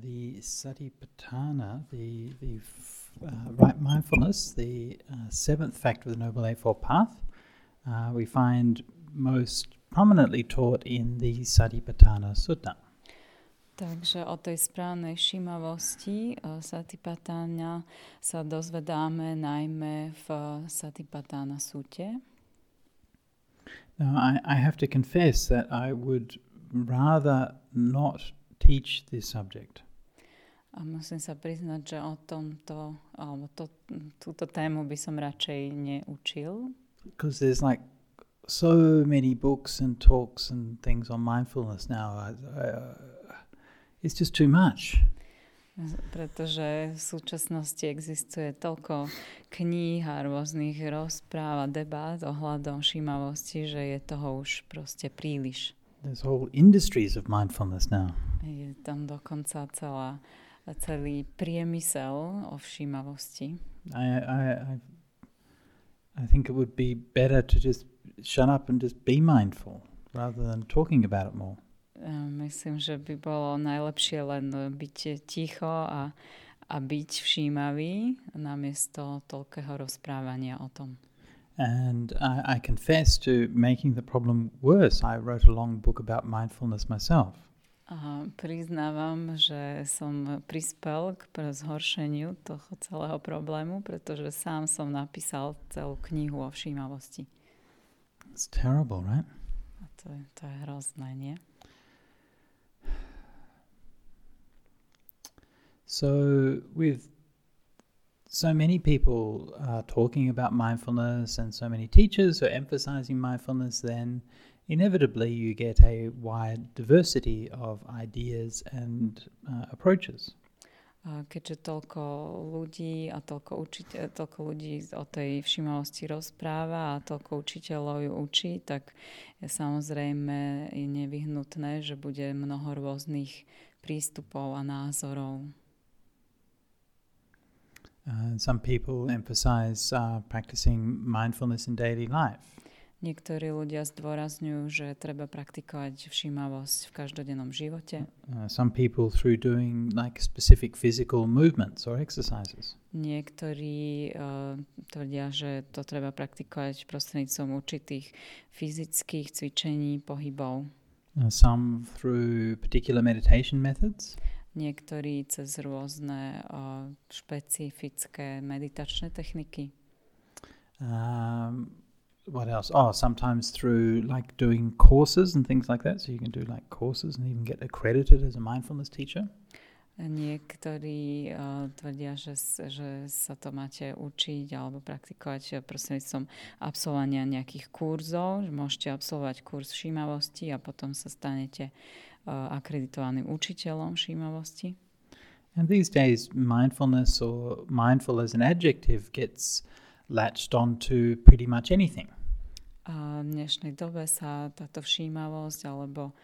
the Satipatthana, the right mindfulness, the seventh factor of the Noble Eightfold Path, we find most prominently taught in the Satipatthana Sutta. Takže o tej správnej všímavosti Satipatthana sa dozvedáme najmä v Satipatthana Sute. Now, I have to confess that I would rather not teach this subject. A musím sa priznať, že o tomto, alebo túto tému by som radšej neučil. Because there's like so many books and talks and things on mindfulness now. It's just too much. Pretože v súčasnosti existuje toľko kníh a rôznych rozpráv a debát ohľadom všímavosti, že je toho už proste príliš. There's whole industries of mindfulness now. Je tam dokonca celý priemysel o všímavosti. I think it would be better to just shut up and just be mindful rather than talking about it more. Myslím, že by bolo najlepšie len byť ticho a byť všímavý namiesto toľkého rozprávania o tom. And I confess to making the problem worse. I wrote a long book about mindfulness myself. A priznávam, že som prispel k zhoršeniu toho celého problému, pretože sám som napísal celú knihu o všímavosti. It's terrible, right? A to je hrozné, nie? So with so many people talking about mindfulness and so many teachers are emphasizing mindfulness, then inevitably you get a wide diversity of ideas and approaches. Keďže toľko ľudí a toľko ľudí o tej všímavosti rozpráva a toľko učiteľov ju učí, tak je samozrejme nevyhnutné, že bude mnoho rôznych prístupov a názorov. Some people emphasize practicing mindfulness in daily life. Niektorí ľudia zdôrazňujú, že treba praktikovať všímavosť v každodennom živote. Some people through doing like specific physical movements or exercises. Niektorí tvrdia, že to treba praktikovať prostredníctvom určitých fyzických cvičení, pohybov. Some through particular meditation methods. Niektorí cez rôzne špecifické meditačné techniky. What else? Sometimes through like doing courses and things like that. So you can do like courses and even get accredited as a mindfulness teacher. Niektorí tvrdia, že sa to máte učiť alebo praktikovať prostredníctvom absolvovania nejakých kurzov. Môžete absolvovať kurz všímavosti a potom sa stanete akreditovaným učiteľom všímavosti. And these days mindfulness or mindful as an adjective gets latched onto pretty much anything. A v dnešnej dobe sa táto všímavosť alebo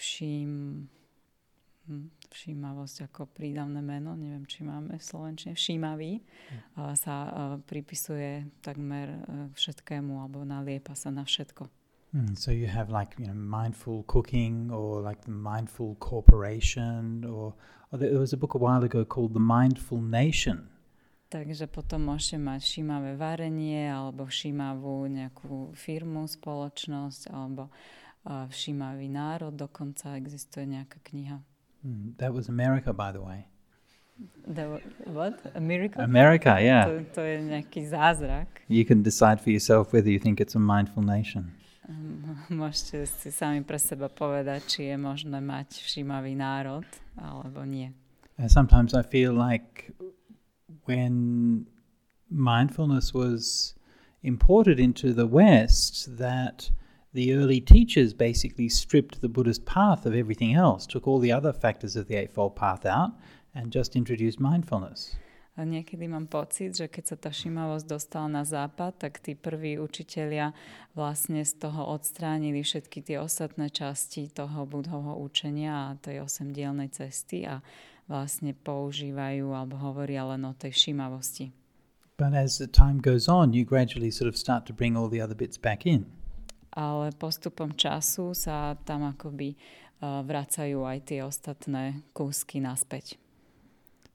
všímavosť ako prídavné meno, neviem, či máme v slovenčine, všímavý, sa pripisuje takmer všetkému alebo naliepa sa na všetko. So you have like, mindful cooking or like the mindful corporation or there was a book a while ago called The Mindful Nation. Takže potom môžete mať všímavé varenie alebo všímavú nejakú firmu, spoločnosť alebo všímavý národ, dokonca existuje nejaká kniha. That was America, by the way. What? America? America, yeah. To je nejaký zázrak. You can decide for yourself whether you think it's a mindful nation. Môžete si sami pre seba povedať, či je možné mať všímavý národ, alebo nie. Sometimes I feel like when mindfulness was imported into the West, that the early teachers basically stripped the Buddhist path of everything else, took all the other factors of the Eightfold Path out, and just introduced mindfulness. A niekedy mám pocit, že keď sa tá všímavosť dostala na západ, tak tí prví učitelia vlastne z toho odstránili všetky tie ostatné časti toho Buddhovho učenia a tej 8-dielnej cesty a vlastne používajú alebo hovoria len o tej všímavosti. But as the time goes on, you gradually sort of start to bring all the other bits back in. Ale postupom času sa tam akoby vracajú aj tie ostatné kúsky naspäť.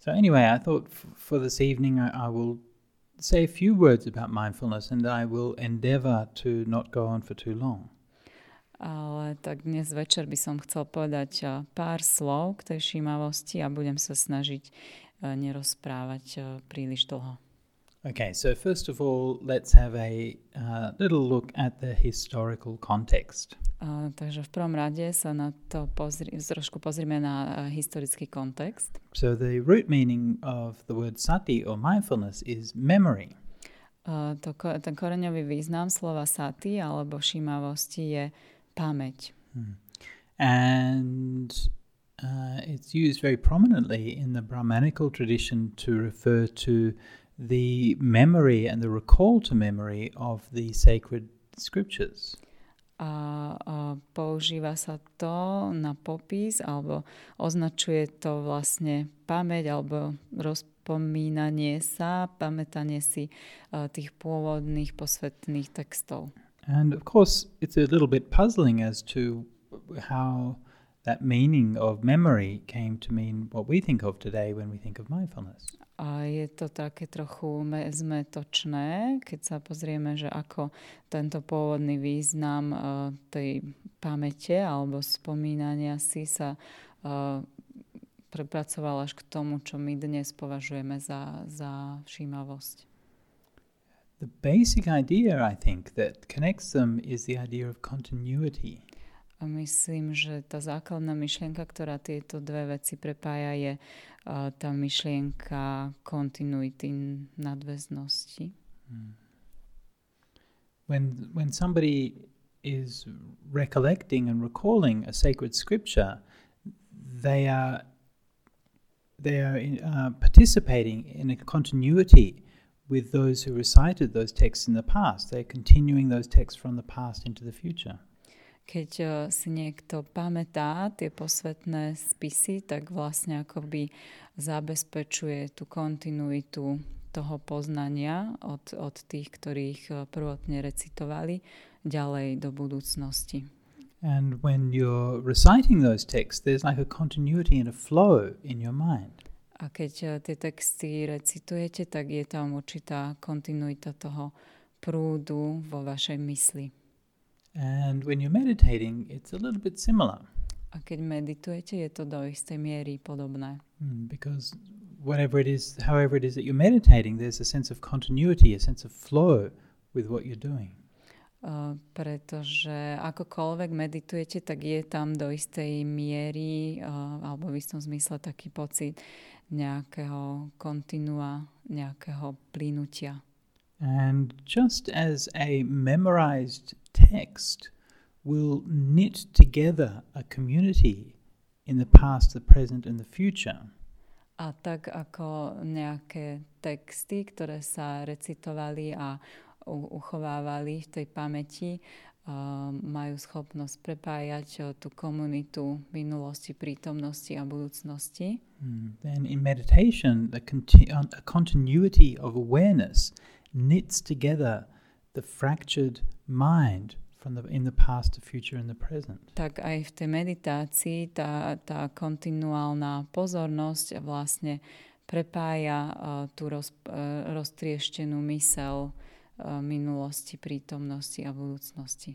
So anyway, I thought for this evening I will say a few words about mindfulness and I will endeavor to not go on for too long. Ale tak dnes večer by som chcel povedať pár slov k tej všímavosti a budem sa snažiť nerozprávať príliš dlho. Okay, so first of all, let's have a little look at the historical context. Takže v prvom rade sa na to trošku pozrieme na historický kontext. So the root meaning of the word sati or mindfulness is memory. Ten koreňový význam slova sati alebo všímavosti je pamäť. And it's used very prominently in the Brahmanical tradition to refer to the memory and the recall to memory of the sacred scriptures. A používa sa to na popis alebo označuje to vlastne pamäť alebo rozpomínanie sa, pamätanie si tých pôvodných posvetných textov. And of course it's a little bit puzzling as to how that meaning of memory came to mean what we think of today when we think of mindfulness. A je to také trochu zmetočné, keď sa pozrieme, že ako tento pôvodný význam tej pamäte alebo spomínania si sa prepracoval až k tomu, čo my dnes považujeme za všímavosť. The basic idea, I think, that connects them is the idea of continuity. A myslím, že tá základná myšlienka, ktorá tieto dve veci prepája, je tá myšlienka kontinuity, nadväznosti. When somebody is recollecting and recalling a sacred scripture, they are participating in a continuity with those who recited those texts in the past. They're continuing those texts from the past into the future. Keď si niekto pamätá tie posvetné spisy, tak vlastne akoby zabezpečuje tú kontinuitu toho poznania od tých, ktorých prvotne recitovali, ďalej do budúcnosti. And when you're reciting those texts, there's like a continuity and a flow in your mind. A keď tie texty recitujete, tak je tam určitá kontinuita toho prúdu vo vašej mysli. And when you're meditating, it's a little bit similar. A keď meditujete, je to do istej miery podobné. Because however it is that you're meditating, there's a sense of continuity, a sense of flow with what you're doing. Pretože akokoľvek meditujete, tak je tam do istej miery alebo v istom zmysle taký pocit nejakého kontinua, nejakého plynutia. And just as a memorized text will knit together a community in the past, the present and the future. A tak ako nejaké texty, ktoré sa recitovali a uchovávali v tej pamäti, majú schopnosť prepájať tú komunitu minulosti, prítomnosti a budúcnosti. Then in meditation, a continuity of awareness knits together the fractured mind in the past, the future and the present. Tak aj v tej meditácii tá kontinuálna pozornosť vlastne prepája tú roztrieštenú myseľ minulosti, prítomnosti a budúcnosti.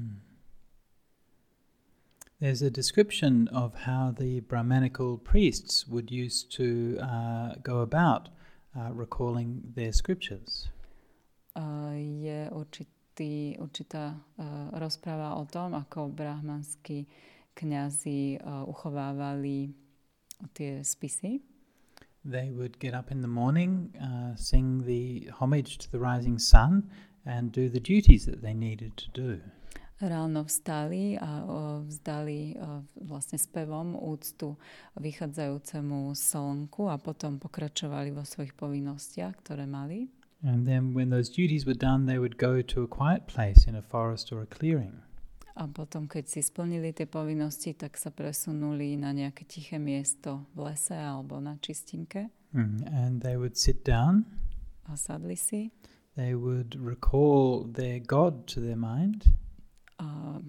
There's a description of how the Brahmanical priests would used to go about recalling their scriptures. Je určitá rozpráva o tom, ako brahmanskí kňazi uchovávali tie spisy. They would get up in the morning, sing the homage to the rising sun and do the duties that they needed to do. Ráno vstali a vzdali vlastne spevom úctu vychádzajúcemu slnku a potom pokračovali vo svojich povinnostiach, ktoré mali. And then when those duties were done, they would go to a quiet place in a forest or a clearing. A potom, keď si splnili tie povinnosti, tak sa presunuli na nejaké tiché miesto v lese alebo na čistinke. And they would sit down. A sadli si. They would recall their God to their mind. A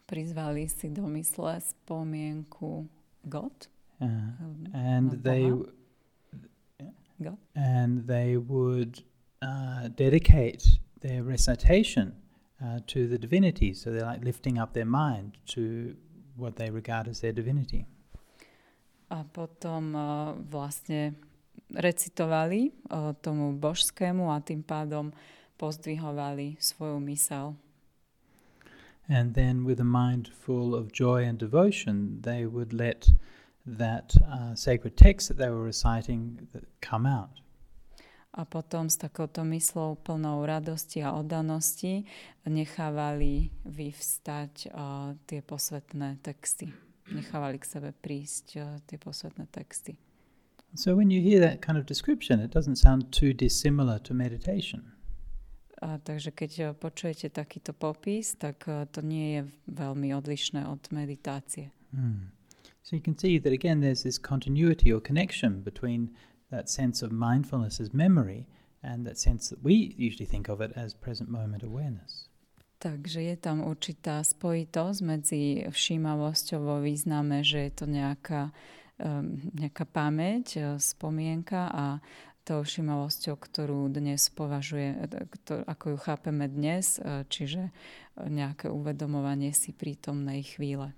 prizvali si do mysle spomienku God. And they God. And they would dedicate their recitation to the divinity. So they're like lifting up their mind to what they regard as their divinity. A potom vlastne recitovali tomu božskému a tým pádom pozdvihovali svoju myseľ. And then with a mind full of joy and devotion, they would let that sacred text that they were reciting come out. A potom s takouto myslou plnou radosti a oddanosti nechávali vyvstať tie posvetné texty. Nechávali k sebe prísť tie posvetné texty. So when you hear that kind of description, it doesn't sound too dissimilar to meditation. Takže keď počujete takýto popis, tak to nie je veľmi odlišné od meditácie. So you can see that again there's this continuity or connection between that sense of mindfulness as memory and that sense that we usually think of it as present moment awareness. Takže je tam určitá spojitosť medzi všímavosťou vo význame, že je to nejaká pamäť, spomienka a tou všímavosťou, ktorú dnes ako ju chápeme dnes, čiže nejaké uvedomovanie si prítomnej chvíle.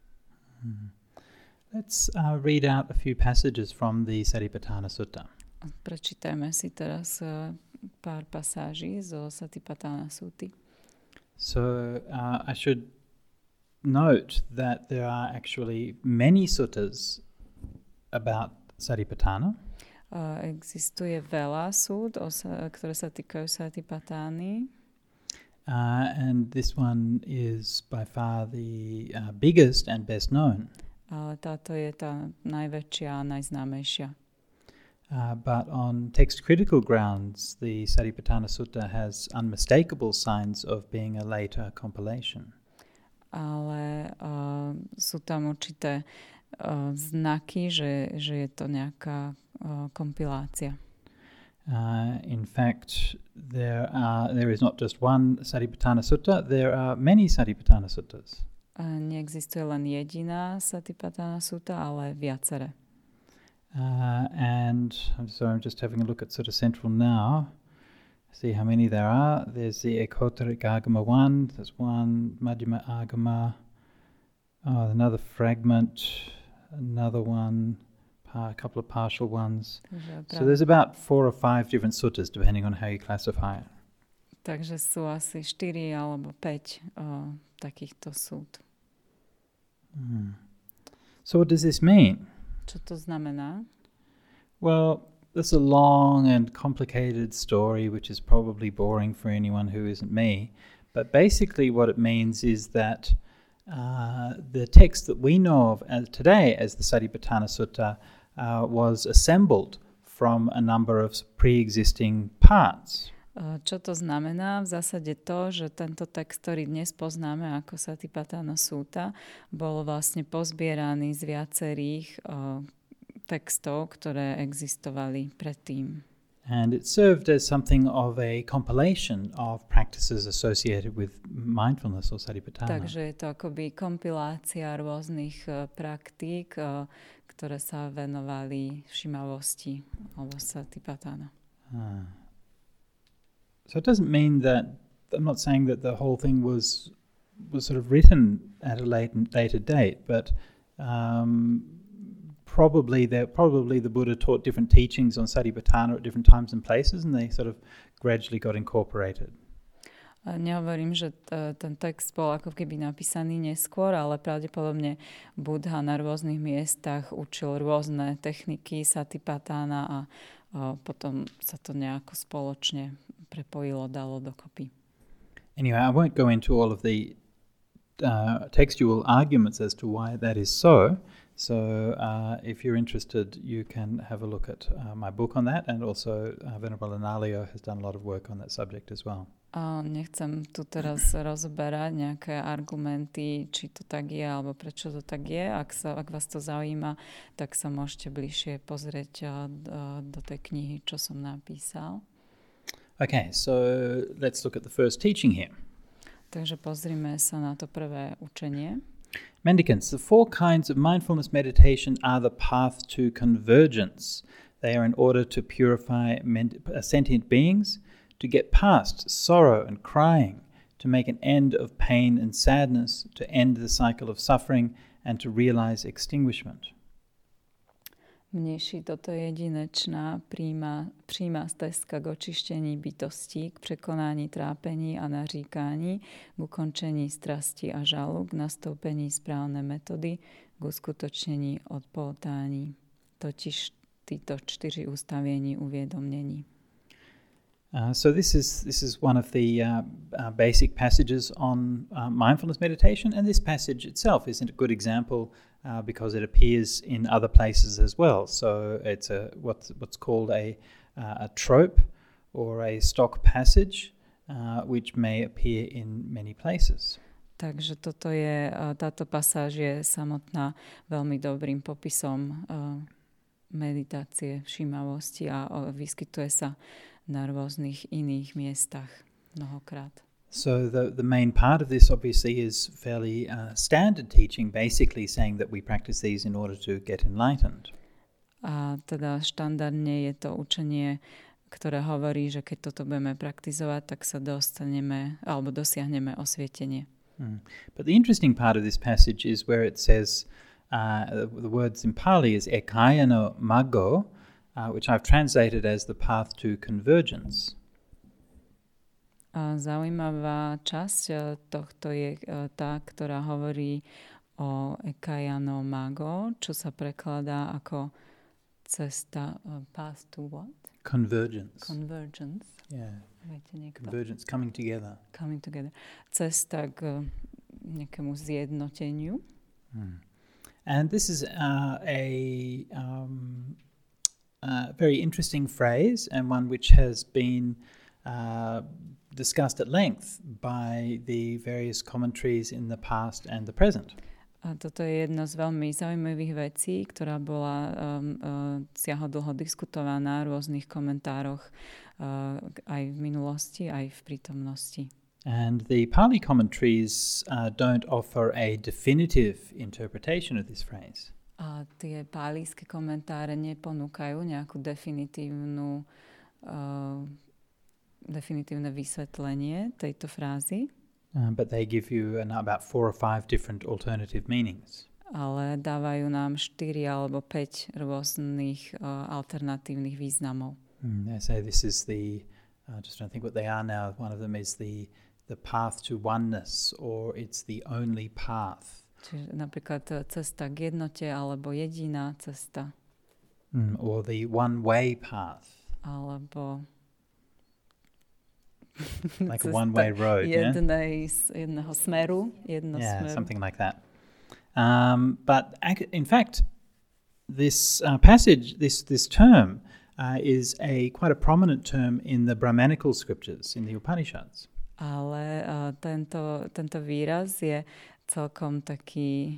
Let's read out a few passages from the Satipatthana Sutta. Prečítajme si teraz pár pasáží zo Satipatthana Sutty. So I should note that there are actually many suttas about Satipatthana. Existuje veľa súd, ktoré sa týkajú Satipatány. And this one is by far the biggest and best known. Ale táto je tá najväčšia a najznámejšia. But on text-critical grounds, the Satipatthana Sutta has unmistakable signs of being a later compilation. Ale sú tam určité znaky, že je to nejaká kompilácia. In fact, there is not just one Satipatthana Sutta, there are many Satipatthana Suttas. Neexistuje len jediná Satipatthana Sutta, ale viaceré. And I'm just having a look at Sutta Central now. See how many there are. There's the Ekottaric Agama 1, there's one Madhyama Agama, another fragment, another one, a couple of partial ones. So there's about 4 or 5 different suttas depending on how you classify it. Takže sú asi 4 alebo 5 takýchto súd. So what does this mean? Čo to znamená? Well, there's a long and complicated story which is probably boring for anyone who isn't me. But basically what it means is that the text that we know of today as the Satipatthana Sutta was assembled from a number of pre-existing parts. Čo to znamená? V zásade to, že tento text, ktorý dnes poznáme ako Satipatthana Sutta, bol vlastne pozbieraný z viacerých textov, ktoré existovali predtým. And it served as something of a compilation of practices associated with mindfulness or Satipatthana. Takže je to akoby kompilácia rôznych praktík, ktoré sa venovali všímavosti alebo Satipatthana. So it doesn't mean that, I'm not saying that the whole thing was sort of written at a later date, but probably the Buddha taught different teachings on Satipatthana at different times and places, and they sort of gradually got incorporated. Nehovorím, že ten text bol ako keby napísaný neskôr, ale pravdepodobne Buddha na rôznych miestach učil rôzne techniky Satipatthana a potom sa to nejako spoločne prepojilo, dalo dokopy. Anyway, I won't go into all of the textual arguments as to why that is so. So if you're interested, you can have a look at my book on that, and also Venerable Analayo has done a lot of work on that subject as well. Nechcem tu teraz rozoberať nejaké argumenty, či to tak je, alebo prečo to tak je. Ak vás to zaujíma, tak sa môžete bližšie pozrieť do tej knihy, čo som napísal. Okay, so let's look at the first teaching here. Takže pozrime sa na to prvé učenie. Mendicants, the 4 kinds of mindfulness meditation are the path to convergence. They are in order to purify sentient beings, to get past sorrow and crying, to make an end of pain and sadness, to end the cycle of suffering, and to realize extinguishment. Mniejší toto jedinečná přímá stezka k očištení bytostí, k překonání trápení a naříkání, k ukončení strasti a žalu, k nastoupení správné metody, k uskutočnení odpoutání. Totiž tyto 4 ustavění uvědomění. So this is one of the basic passages on mindfulness meditation, and this passage itself is a good example because it appears in other places as well. So it's what's called a trope or a stock passage, which may appear in many places. Takže táto pasáž je samotná veľmi dobrým popisom meditácie, všímavosti a vyskytuje sa na rôznych iných miestach mnohokrát. So the main part of this obviously is fairly standard teaching, basically saying that we practice these in order to get enlightened. A teda štandardne je to učenie, ktoré hovorí, že keď toto budeme praktizovať, tak sa dostaneme alebo dosiahneme osvietenie. But the interesting part of this passage is where it says the words in Pali is ekayano maggo, which I've translated as the path to convergence. A zaujímavá časť tohto je tá, ktorá hovorí o ekayano maggo, čo sa prekladá ako cesta, path to what? Convergence. Convergence. Yeah. Viete niekto? Convergence, coming together. Coming together. Cesta k nejakému zjednoteniu. And this is a very interesting phrase, and one which has been discussed at length by the various commentaries in the past and the present. A toto je jedna z veľmi zaujímavých vecí, ktorá bola siahodlho diskutovaná v rôznych komentároch aj v minulosti, aj v prítomnosti. And the Pali commentaries don't offer a definitive interpretation of this phrase. A tie pálijské komentáre neponúkajú nejakú definitívne vysvetlenie tejto frázy. But they give you about 4 or 5 different alternative meanings. Ale dávajú nám 4 alebo 5 rôznych alternatívnych významov. They say this is just trying to think what they are now. One of them is the path to oneness, or it's the only path. Čiže napríklad cesta k jednote, alebo jediná cesta. Or the one-way path. Alebo like a one-way road, jedného smeru, smeru. Something like that. But in fact, this passage, this term, is quite a prominent term in the Brahmanical scriptures, in the Upanishads. Ale tento výraz je celkom taký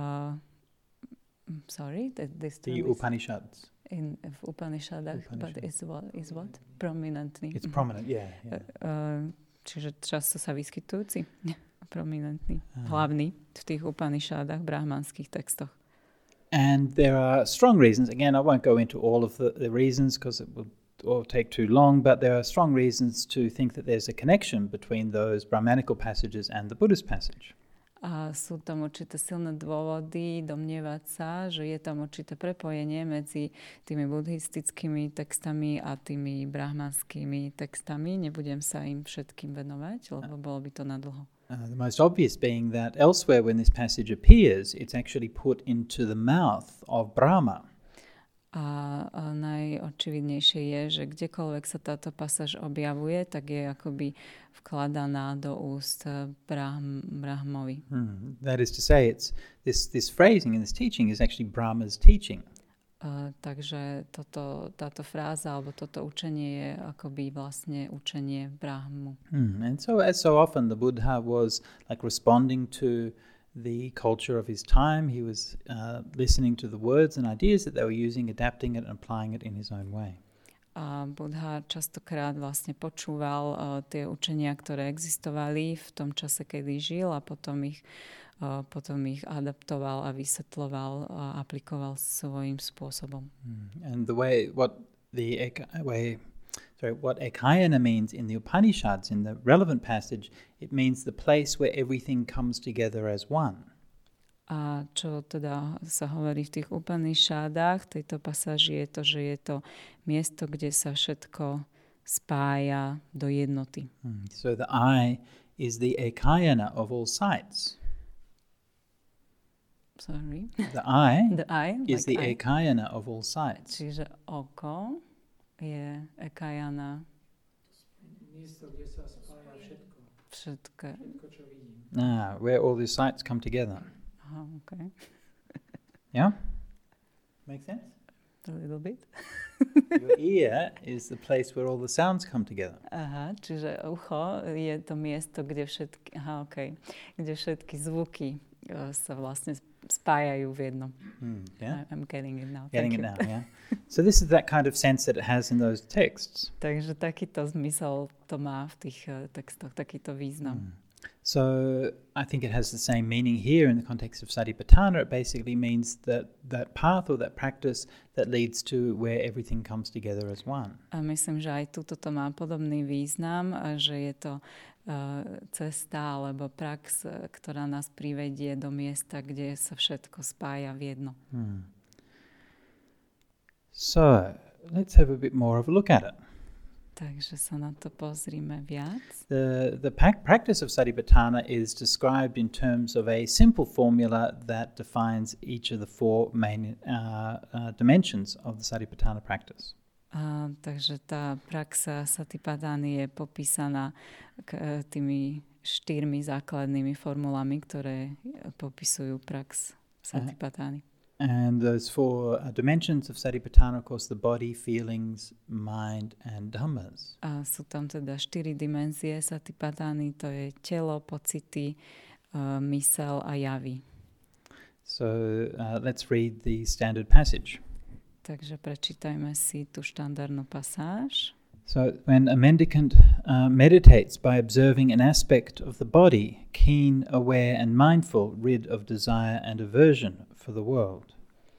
the Upanishads. V Upanishadoch, but is what? Prominentný. It's prominent, yeah. Čiže často sa vyskytujúci, prominentný, hlavný v tých Upanishadach, brahmanských textoch. And there are strong reasons. Again, I won't go into all of the reasons because it will all take too long, but there are strong reasons to think that there's a connection between those Brahmanical passages and the Buddhist passage. A sú tam určité silné dôvody domnievať sa, že je tam určité prepojenie medzi tými buddhistickými textami a tými brahmanskými textami. Nebudem sa im všetkým venovať, lebo bolo by to nadlho. The most obvious being that elsewhere when this passage appears, it's actually put into the mouth of Brahma. A najočividnejšie je, že kdekoľvek sa táto pasáž objavuje, tak je akoby vkladaná do úst Brahmovi. That is to say, it's this phrasing in this teaching is actually Brahma's teaching. Takže táto fráza alebo toto učenie je akoby vlastne učenie Brahmu. And so as so often the Buddha was like responding to the culture of his time. He was listening to the words and ideas that they were using, adapting it and applying it in his own way. A Buddha častokrát vlastne počúval tie učenia, ktoré existovali v tom čase, kedy žil a potom ich adaptoval a vysvetloval a aplikoval svojím spôsobom. And what ekayana means in the Upanishads, in the relevant passage, it means the place where everything comes together as one. A čo teda sa hovorí v tých Upanishadách, tejto pasáži je to, že je to miesto, kde sa všetko spája do jednoty. So the eye is the ekayana of all sights. Sorry. The eye is like the ekayana of all sights. Čiže oko je ekayana. Miesto, kde sa spája všetko. Všetko, čo vidím. Where all the sights come together. Okay. Yeah? Make sense? A little bit. Your ear is the place where all the sounds come together. Aha, čiže ucho je to miesto, kde všetky zvuky sa vlastne spájajú v jednom. Yeah? I'm getting it now. Getting it now, yeah. So this is that kind of sense that it has in those texts. Takže takýto zmysel to má v tých textoch, takýto význam. So I think it has the same meaning here in the context of Satipatthana. It basically means that path or that practice that leads to where everything comes together as one. A myslím, že aj tuto to má podobný význam, že je to cesta alebo prax, ktorá nás privedie do miesta, kde sa všetko spája v jedno. So let's have a bit more of a look at it. Takže sa na to pozrime viac. The practice of Satipatthana is described in terms of a simple formula that defines each of the four main dimensions of the Satipatthana practice. Takže tá praxa Satipatthany je popísaná tými 4 základnými formulami, ktoré popisujú prax Satipatthany. And those four dimensions of Satipatthana, of course, the body, feelings, mind, and dhammas. A sú tam teda 4 dimenzie Satipatthany, to je telo, pocity, mysel a javy. So let's read the standard passage. Takže prečítajme si tú štandardnú pasáž. So when a mendicant meditates by observing an aspect of the body, keen, aware, and mindful, rid of desire and aversion for the world.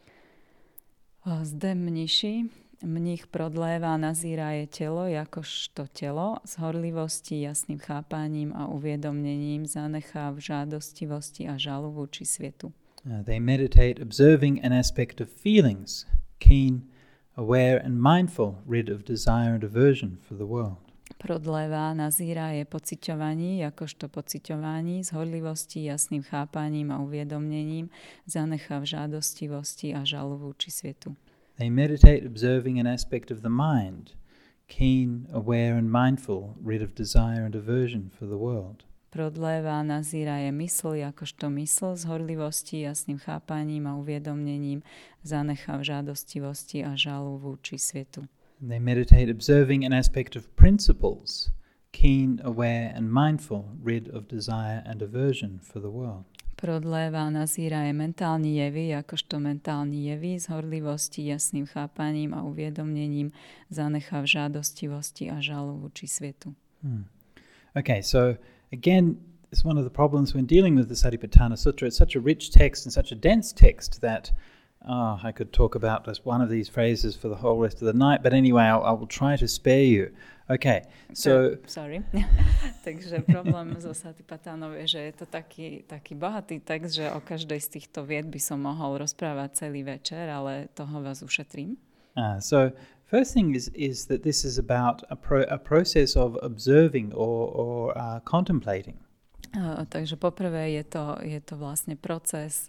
Zde mních prodlévá, nazíraje telo jakožto telo, z horlivosti, jasným chápaním a uvědomněním zanechá v žádostivosti a žalu vůči světu. They meditate observing an aspect of feelings, keen, aware and mindful, rid of desire and aversion for the world. Prodlévá, nazíraje pociťovaní, jakožto pociťování, z horlivosti, jasným chápaním a uvědomněním zanechá v žádostivosti a žalu vůči světu. They meditate observing an aspect of the mind, keen, aware and mindful, rid of desire and aversion for the world. Prodlévá, nazíraje mysl, jakožto mysl, z horlivosti, jasným chápaním a uvědomněním zanechá v žádostivosti a žalu vůči světu. They meditate observing an aspect of principles, keen, aware and mindful, rid of desire and aversion for the world. Prodlévá, nazíraje mentální jevy, jakožto mentální jevy, z horlivosti, jasným chápaním a uvědomněním zanechá v žádostivosti a žalu vůči světu. Okay, so again, it's one of the problems when dealing with the Satipatthana Sutta. It's such a rich text and such a dense text that I could talk about just one of these phrases for the whole rest of the night. But anyway, I will try to spare you. Okay, so... Sorry. Takže problém so Satipattanou je, že je to taký bohatý text, že o každej z týchto vied by som mohol rozprávať celý večer, ale toho vás ušetrím. So first thing is that this is about a process of observing or contemplating. Takže poprvé je to vlastne proces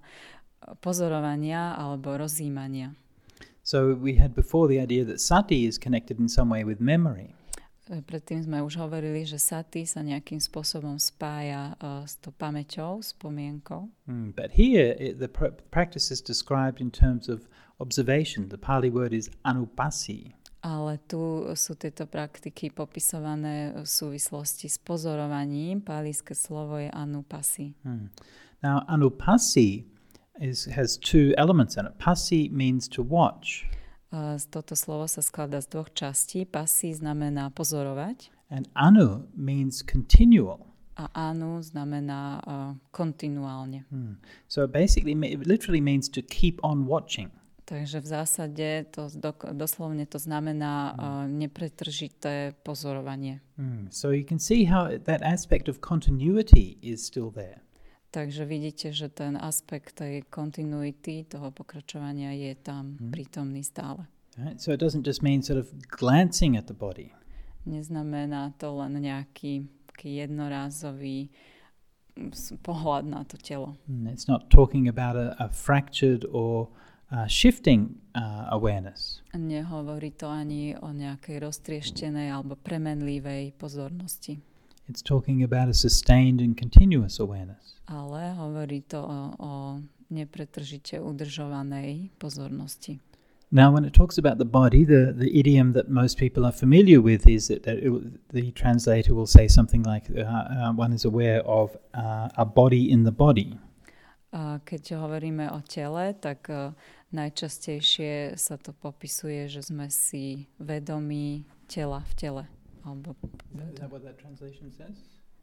pozorovania alebo rozjímania. So we had before the idea that sati is connected in some way with memory. Predtým sme už hovorili, že sati sa nejakým spôsobom spája s tou pamäťou, spomienkou. But here the practice is described in terms of observation. The Pali word is anupassi. Ale tu sú tieto praktiky popisované v súvislosti s pozorovaním. Pálijské slovo je anupassi. Now anupassi has two elements in it. Passi means to watch. Toto slovo sa skladá z dvoch častí. Pasi znamená pozorovať and anu means continual. a anu znamená kontinuálne. So it literally means to keep on watching. Takže v zásade to doslovne to znamená nepretržité pozorovanie. So you can see how that aspect of continuity is still there. Takže vidíte, že ten aspekt tej kontinuity, toho pokračovania je tam prítomný stále. Right? So it doesn't just mean sort of glancing at the body. Neznamená to len nejaký jednorázový pohľad na to telo. It's not talking about a fractured or shifting awareness. Nehovorí to ani o nejakej roztrieštenej alebo premenlivej pozornosti. It's talking about a sustained and continuous awareness. Ale hovorí to o nepretržite udržovanej pozornosti. Now, when it talks about the body, the idiom that most people are familiar with is that the translator will say something like, one is aware of a body in the body. Keď hovoríme o tele, tak najčastejšie sa to popisuje, že sme si vedomí tela v tele. Alebo Is that what that translation says?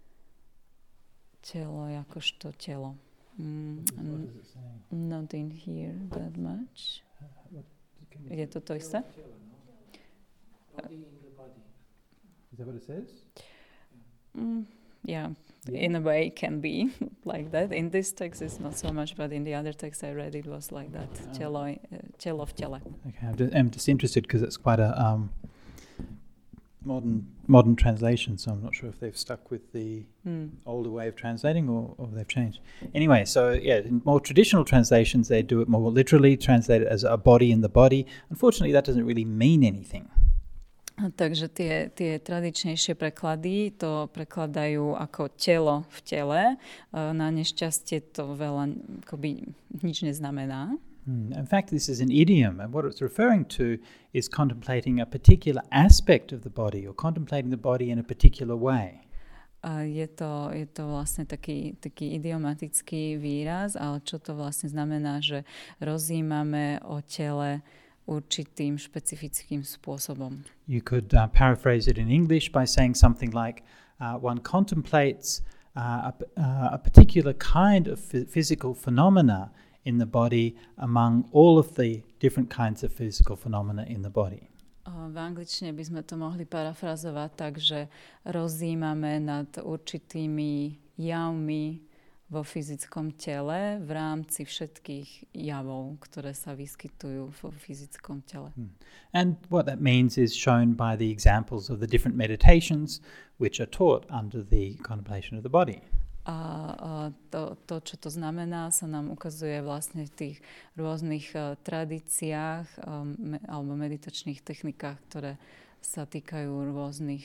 Telo jakožto telo. What does it say? Not in here that much. Je to to isté? Body in the body. Is that what it says? Yeah, in a way it can be like that. In this text it's not so much, but in the other text I read it was like that. Telo v tele. Okay, I'm just interested because it's quite a modern translation, so I'm not sure if they've stuck with the older way of translating or they've changed. Anyway, so yeah, in more traditional translations they do it more literally, translate it as a body in the body. Unfortunately, that doesn't really mean anything. Takže tie tradičnejšie preklady to prekladajú ako telo v tele. Na nešťastie to veľa akoby nič neznamená. In fact, this is an idiom, and what it's referring to is contemplating a particular aspect of the body or contemplating the body in a particular way. Je to vlastne taký idiomatický výraz, ale čo to vlastne znamená, že rozjímame o tele určitým špecifickým spôsobom. You could paraphrase it in English by saying something like, one contemplates a particular kind of physical phenomena in the body among all of the different kinds of physical phenomena in the body. V angličtine by sme to mohli parafrazovať tak, že rozjímame nad určitými javmi vo fyzickom tele v rámci všetkých javov, ktoré sa vyskytujú vo fyzickom tele. And what that means is shown by the examples of the different meditations which are taught under the contemplation of the body. A to, čo to znamená, sa nám ukazuje vlastne v tých rôznych tradíciách alebo meditačných technikách, ktoré sa týkajú rôznych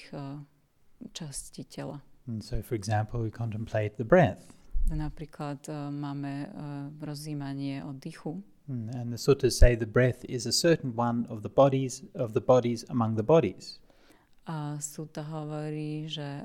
častí tela. And so, for example, we contemplate the breath. Napríklad máme rozjímanie oddychu. And the suttas say the breath is a certain one of the bodies among the bodies. A sutta hovorí, že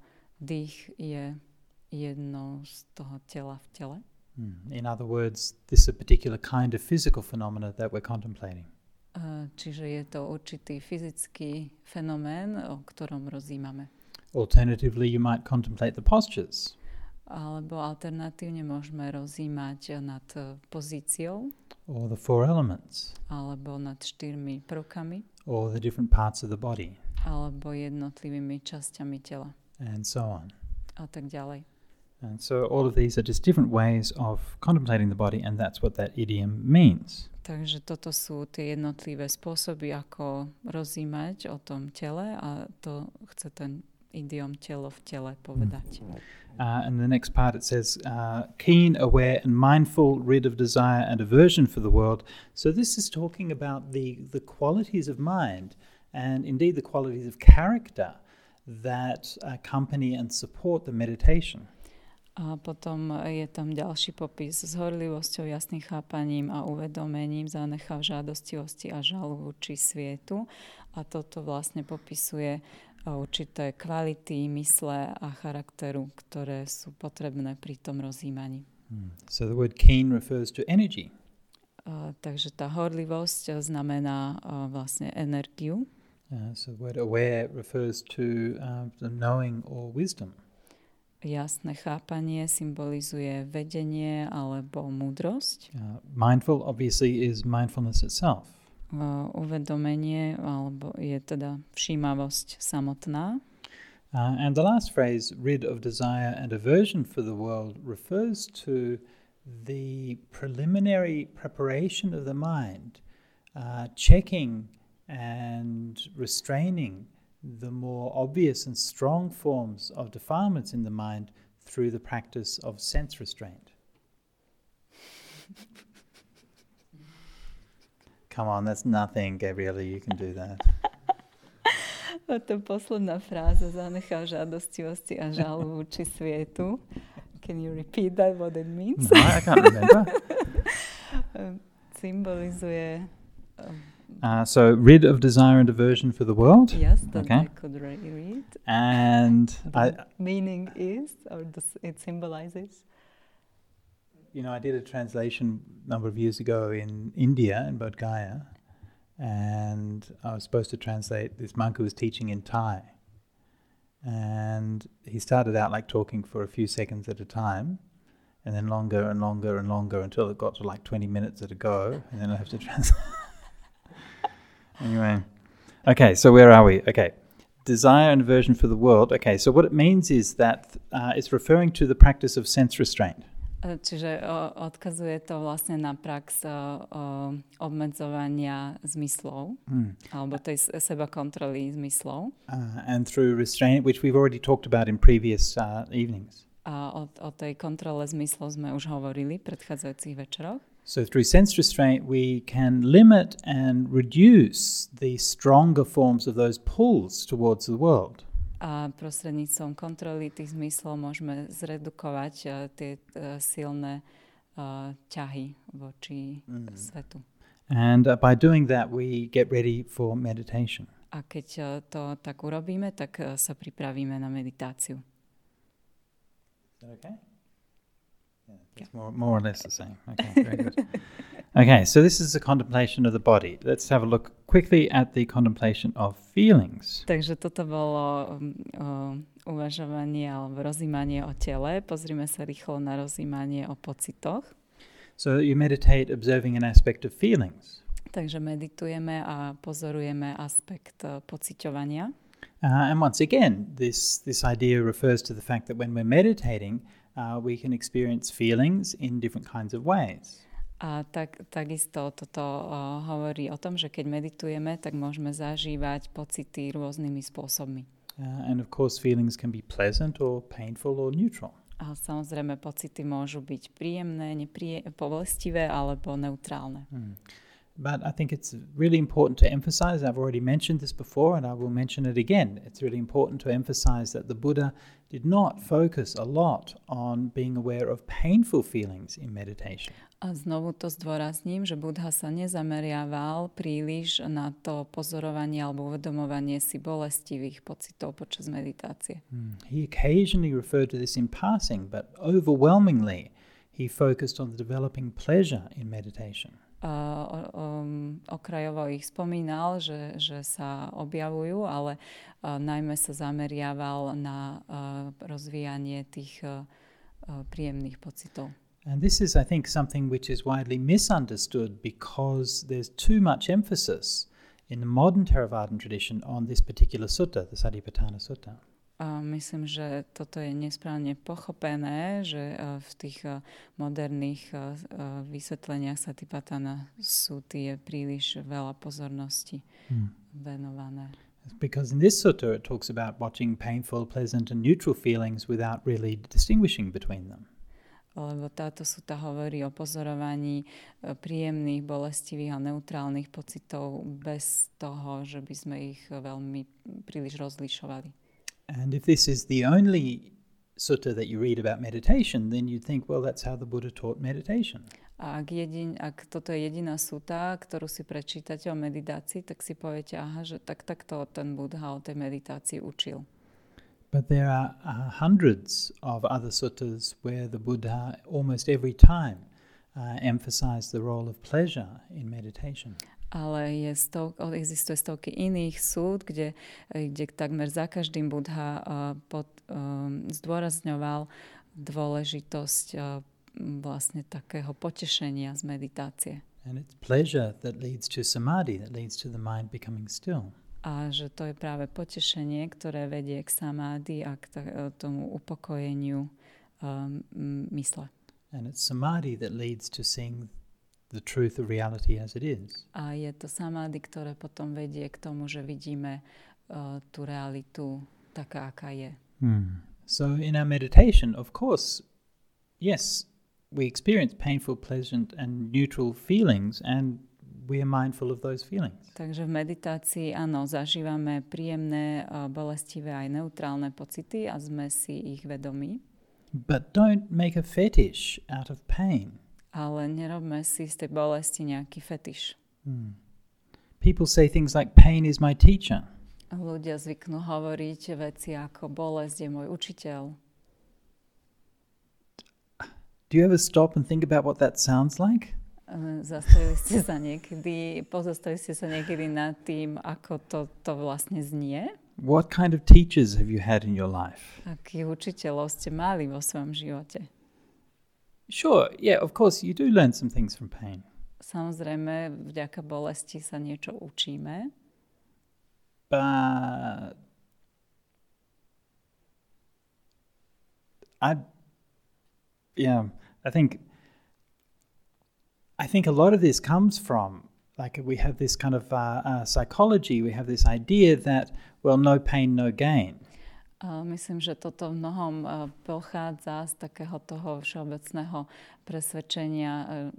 dých je jedno z toho tela v tele. In other words, this is a particular kind of physical phenomena that we're contemplating. Čiže je to určitý fyzický fenomén, o ktorom rozjímame. Alternatively, you might contemplate the postures. Alebo alternatívne môžeme rozjímať nad pozíciou. Or the four elements. Alebo nad 4 prvkami. Or the different parts of the body. Alebo jednotlivými časťami tela. And so on. A tak ďalej. And so all of these are just different ways of contemplating the body, and that's what that idiom means. Takže toto sú tie jednotlivé spôsoby, ako rozímať o tom tele, a to chce ten idiom telo v tele povedať. And the next part it says, keen, aware and mindful, rid of desire and aversion for the world. So this is talking about the qualities of mind and indeed the qualities of character that accompany and support the meditation. A potom je tam ďalší popis s horlivosťou, jasným chápaním a uvedomením, zanechav žiadostivosti a žalu voči svietu. A toto vlastne popisuje určité kvality mysle a charakteru, ktoré sú potrebné pri tom rozjímaní. So the word keen refers to energy. Takže tá horlivosť znamená vlastne energiu. So the word aware refers to the knowing or wisdom. Jasné chápanie symbolizuje vedenie alebo múdrosť. Mindful obviously is mindfulness itself. Uvedomenie alebo je teda všímavosť samotná. And the last phrase, rid of desire and aversion for the world, refers to the preliminary preparation of the mind, checking and restraining the more obvious and strong forms of defilements in the mind through the practice of sense restraint. Come on, that's nothing, Gabriella, you can do that. A to posledná fráza zanechal žádostivosti a žalu voči svietu. Can you repeat that, what it means? No, I can't remember. Symbolizuje... So, rid of desire and aversion for the world. Yes, that Okay. I could read. And The meaning is, or it symbolizes? you know, I did a translation a number of years ago in India, in Bodh Gaya, and I was supposed to translate this monk who was teaching in Thai. And he started out like talking for a few seconds at a time, and then longer and longer and longer until it got to like 20 minutes at a go, and then I have to translate. Anyway, okay, so where are we? Okay, desire and aversion for the world. Okay, so what it means is that it's referring to the practice of sense restraint. Čiže odkazuje to vlastne na prax obmedzovania zmyslov, alebo tej seba kontroly zmyslov. And through restraint, which we've already talked about in previous evenings. A o tej kontrole zmyslov sme už hovorili v predchádzajúcich večeroch. So through sense restraint, we can limit and reduce the stronger forms of those pulls towards the world. A prostredníctvom kontroly tých zmyslov môžeme zredukovať tie silné ťahy voči svetu. And by doing that, we get ready for meditation. A keď to tak urobíme, tak sa pripravíme na meditáciu. Is that okay? Yeah, it's more or less the same. Okay, very good. Okay, so this is the contemplation of the body. Let's have a look quickly at the contemplation of feelings. Takže toto bolo uvažovanie alebo rozímanie o tele. Pozrime sa rýchlo na rozímanie o pocitoch. So you meditate observing an aspect of feelings. Takže meditujeme a pozorujeme aspekt pociťovania. And once again, this idea refers to the fact that when we're meditating, we can experience feelings in different kinds of ways. A takisto toto hovorí o tom, že keď meditujeme, tak môžeme zažívať pocity rôznymi spôsobmi. And of course, feelings can be pleasant or painful or neutral. A samozrejme, pocity môžu byť príjemné, povestivé alebo neutrálne. But I think it's really important to emphasize, I've already mentioned this before and I will mention it again, it's really important to emphasize that the Buddha did not focus a lot on being aware of painful feelings in meditation. A znovu to zdôrazním, že Buddha sa nezameriaval príliš na to pozorovanie alebo uvedomovanie si bolestivých pocitov počas meditácie. He occasionally referred to this in passing, but overwhelmingly he focused on the developing pleasure in meditation. Okrajovo ich spomínal, že sa objavujú, ale najmä sa zameriaval na rozvíjanie tých príjemných pocitov. And this is, I think, something which is widely misunderstood because there's too much emphasis in the modern Theravadan tradition on this particular sutta, the Satipatthana Sutta. Myslím, že toto je nesprávne pochopené, že v tých moderných vysvetleniach Satipatthana Sutty je príliš veľa pozornosti venované. Because in this sutta it talks about watching painful, pleasant and neutral feelings without really distinguishing between them. Lebo táto sutta hovorí o pozorovaní príjemných, bolestivých a neutrálnych pocitov bez toho, že by sme ich veľmi príliš rozlišovali. And if this is the only sutta that you read about meditation, then you'd think, well, that's how the Buddha taught meditation. A ak toto je jediná sutta, ktorú si prečítate o meditácii, tak si poviete, aha, že takto ten Buddha o tej meditácii učil. But there are hundreds of other suttas where the Buddha almost every time emphasize the role of pleasure in meditation. Ale existuje stovky iných súd, kde takmer za každým Buddha zdôrazňoval dôležitosť vlastne takého potešenia z meditácie. And it's pleasure that leads to samadhi, that leads to the mind becoming still. A že to je práve potešenie, ktoré vedie k samády a k tomu upokojeniu mysle. And it's samadhi that leads to seeing the truth of reality as it is. A je to samády, ktoré potom vedie k tomu, že vidíme tú realitu taká, aká je. So in our meditation, of course, yes, we experience painful, pleasant and neutral feelings, and we are mindful of those feelings. Takže v meditácii, áno, zažívame príjemné, bolestivé aj neutrálne pocity a sme si ich vedomí. But don't make a fetish out of pain. Ale nerobme si z tej bolesti nejaký fetiš. People say things like, pain is my teacher. Ľudia zvyknú hovoriť veci ako bolesť je môj učiteľ. Do you ever stop and think about what that sounds like? Pozastavili ste sa niekedy nad tým, ako to vlastne znie? What kind of teachers have you had in your life? Akých učiteľov ste mali vo svojom živote? Sure, yeah, of course, you do learn some things from pain. Samozrejme, vďaka bolesti sa niečo učíme. But I think a lot of this comes from, like, we have this kind of psychology, we have this idea that, well, no pain, no gain. Myslím, že toto v mnohom pochádza z takého toho všeobecného presvedčenia.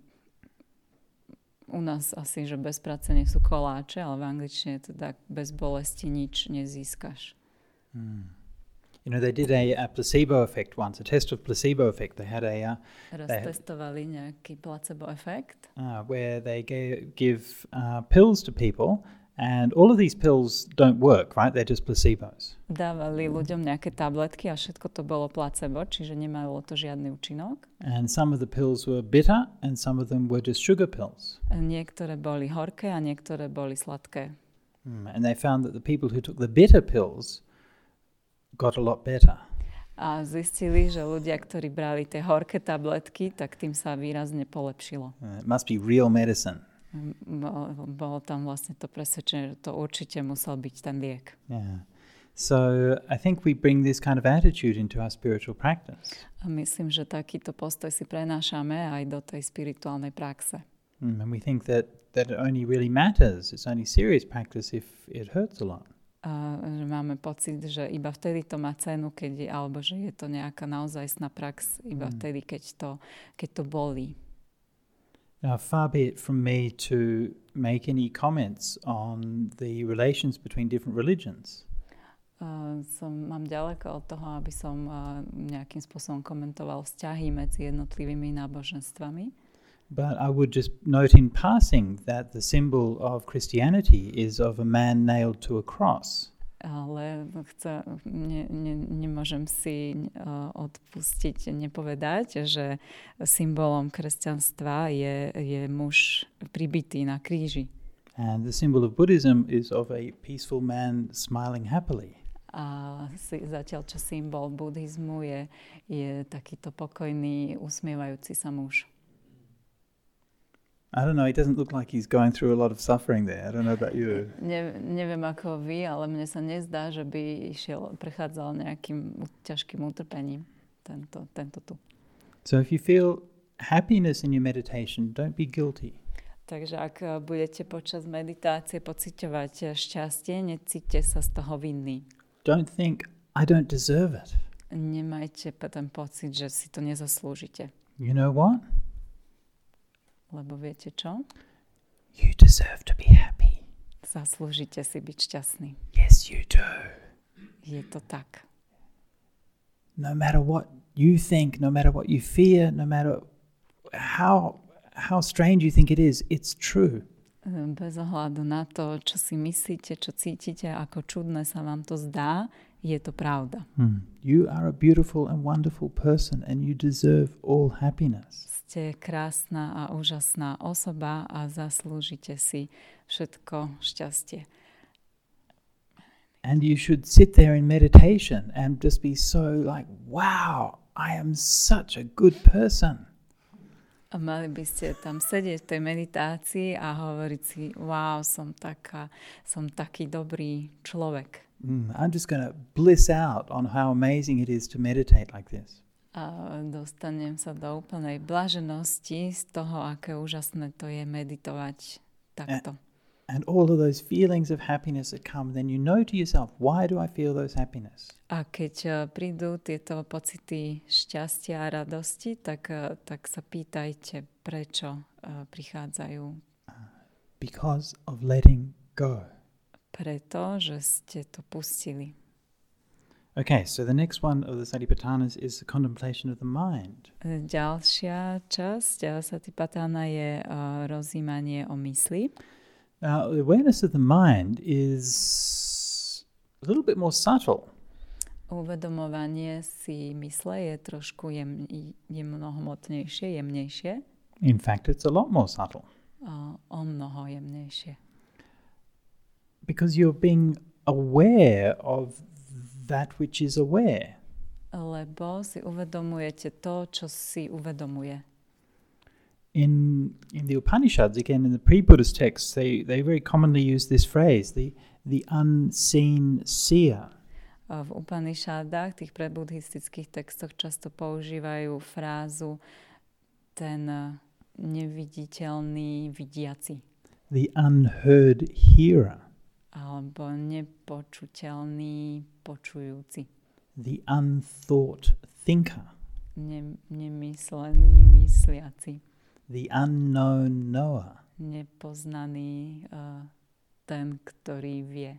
U nás asi, že bez práce nie sú koláče, ale v angličtine teda bez bolesti nič nezískaš. You know, they did a placebo effect once, a test of placebo effect. They had testovali nejaký placebo efekt. Where they give pills to people. And all of these pills don't work, right? They're just placebos. Dávali ľuďom nejaké tabletky a všetko to bolo placebo, čiže nemalo to žiadny účinok. And some of the pills were bitter and some of them were just sugar pills. Niektoré boli horké a niektoré boli sladké. And they found that the people who took the bitter pills got a lot better. A zistili, že ľudia, ktorí brali tie horké tabletky, tak tým sa výrazne polepšilo. It must be real medicine. Bolo tam vlastne to presvedčenie, že to určite musel byť ten liek. Yeah. So I think we bring this kind of attitude into our spiritual practice. A myslím, že takýto postoj si prenášame aj do tej spirituálnej praxe. And we think that it only really matters. It's only serious practice if it hurts a lot. A že máme pocit, že iba vtedy to má cenu, alebo že je to nejaká naozajstná prax, iba vtedy, keď to bolí. Now, far be it from me to make any comments on the relations between different religions. Mám ďaleko od toho, aby som nejakým spôsobom komentoval vzťahy medzi jednotlivými náboženstvami. But I would just note in passing that the symbol of Christianity is of a man nailed to a cross. Ale nemôžem si odpustiť, nepovedať, že symbolom kresťanstva je muž pribitý na kríži. And the symbol of Buddhism is of a peaceful man smiling happily. A zatiaľ, čo symbol buddhizmu je takýto pokojný, usmievajúci sa muž. I don't know, it doesn't look like he's going through a lot of suffering there. I don't know about you. Neviem ako vy, ale mne sa nezdá, že by prechádzal nejakým ťažkým utrpením tento tu. So if you feel happiness in your meditation, don't be guilty. Takže ak budete počas meditácie pociťovať šťastie, necíťte sa z toho vinný. Don't think, I don't deserve it. Nemajte ten pocit, že si to nezaslúžite. You know what? Lebo viete čo? You deserve to be happy. Zaslúžite si byť šťastný. Yes, you do. Je to tak. No matter what you think, no matter what you fear, no matter how strange you think it is, it's true. Bez ohľadu na to, čo si myslíte, čo cítite, ako čudné sa vám to zdá, je to pravda. You are a beautiful and wonderful person and you deserve all happiness. Ste krásna a úžasná osoba a zaslúžite si všetko šťastie. And you should sit there in meditation and just be so like, wow, I am such a good person. A mali by ste tam sedieť v tej meditácii a hovoriť si, wow, som taký dobrý človek. I'm just going to bliss out on how amazing it is to meditate like this. A dostanem sa do úplnej blaženosti z toho, aké úžasné to je meditovať takto. And all of those feelings of happiness that come, then you know to yourself, why do I feel those happiness? A keď prídu tieto pocity šťastia a radosti, tak sa pýtajte, prečo prichádzajú. Because of letting go. Preto, že ste to pustili. Okay, so the next one of the Satipatthanas is the contemplation of the mind. Ďalšia časť Satipatthana je rozjímanie o mysli. Now, the awareness of the mind is a little bit more subtle. Uvedomovanie si mysle je trošku mnohomotnejšie, jemnejšie. In fact, it's a lot more subtle. O mnoho jemnejšie. Because you're being aware of that which is aware. Lebo si uvedomujete to, čo si uvedomuje. In the Upanishads, again in the pre-Buddhist texts, they very commonly use this phrase, the unseen seer. V Upanishadách, tých prebuddhistických textoch často používajú frázu ten neviditeľný vidiaci. The unheard hearer. Alebo nepočuteľný počujúci. The unthought thinker. Nemyslený mysliaci. The unknown knower. Nepoznaný ten, ktorý vie.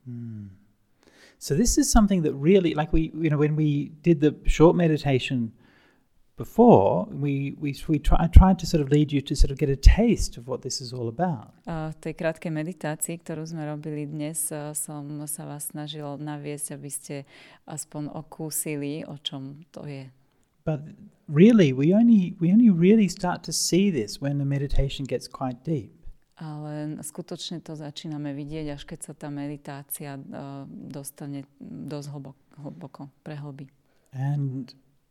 So this is something that really, like when we did the short meditation before, I tried to sort of lead you to sort of get a taste of what this is all about. V tej krátkej meditácii, ktorú sme robili dnes, som sa vás snažil naviesť, aby ste aspoň okúsili, o čom to je. But really, we only really start to see this when the meditation gets quite deep. Ale skutočne to začíname vidieť, až keď sa tá meditácia dostane dosť hlboko, prehlbí. And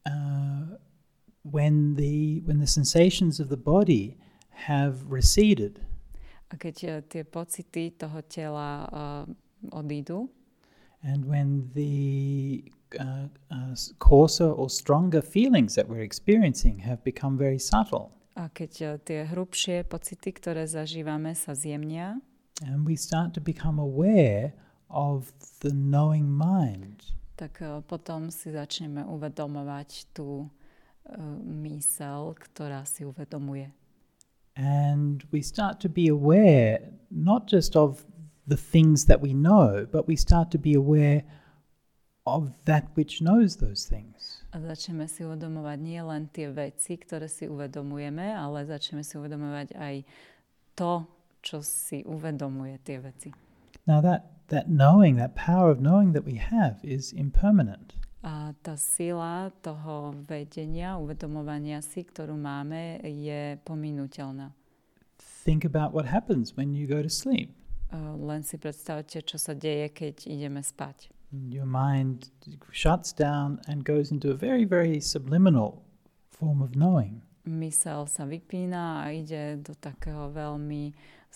when the sensations of the body have receded, a keď tie pocity toho tela odídu, and when the coarser or stronger feelings that we're experiencing have become very subtle. A keď tie hrubšie pocity, ktoré zažívame, sa zjemnia, and we start to become aware of the knowing mind. Tak potom si začneme uvedomovať tú myseľ, ktorá si uvedomuje. And we start to be aware not just of the things that we know, but we start to be aware of that which knows those things. A začneme si uvedomovať nie len tie veci, ktoré si uvedomujeme, ale začneme si uvedomovať aj to, čo si uvedomuje tie veci. Now that knowing, that power of knowing that we have is impermanent. A tá sila toho vedenia, uvedomovania si, ktorú máme, je pominuteľná. Think about what happens when you go to sleep. Len si predstavte, čo sa deje, keď ideme spať. Your mind shuts down and goes into a very, very subliminal form of knowing. Mysel sa vypína a ide do takého veľmi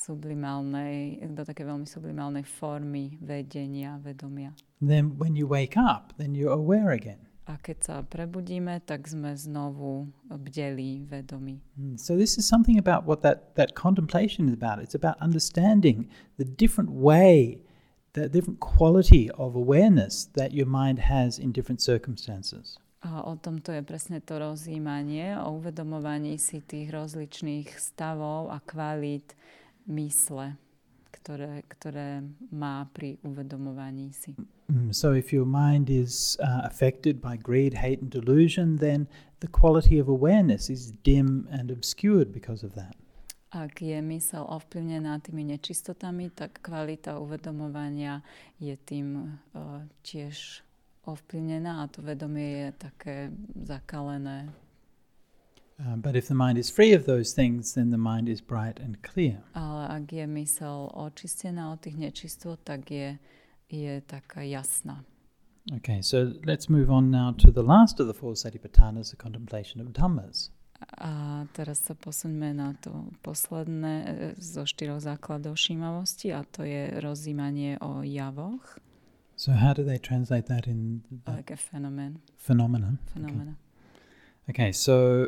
sublimálnej formy vedenia, vedomia. Then when you wake up, then you're aware again. A keď sa prebudíme, tak sme znovu bdelí, vedomí. So this is something about what that contemplation is about. It's about understanding the different way, the different quality of awareness that your mind has in different circumstances. A o tom to je presne to rozjímanie, o uvedomovaní si tých rozličných stavov a kvalít mysle, ktoré má pri uvedomovaní si. So if your mind is affected by greed, hate and delusion, then the quality of awareness is dim and obscured because of that. Ak je mysel ovplyvnená tými nečistotami, tak kvalita uvedomovania je tým tiež ovplyvnená a to vedomie je také zakalené. But if the mind is free of those things, then the mind is bright and clear. Ale ak je mysel očistená od tých nečistôt, tak je taká jasná. Okay, so let's move on now to the last of the four satipatthanas, the contemplation of dhammas. A teraz sa posuňme na to posledné zo 4 základov všímavosti a to je rozjímanie o javoch. So how do they translate that in Like a phenomenon. phenomena? Okay, so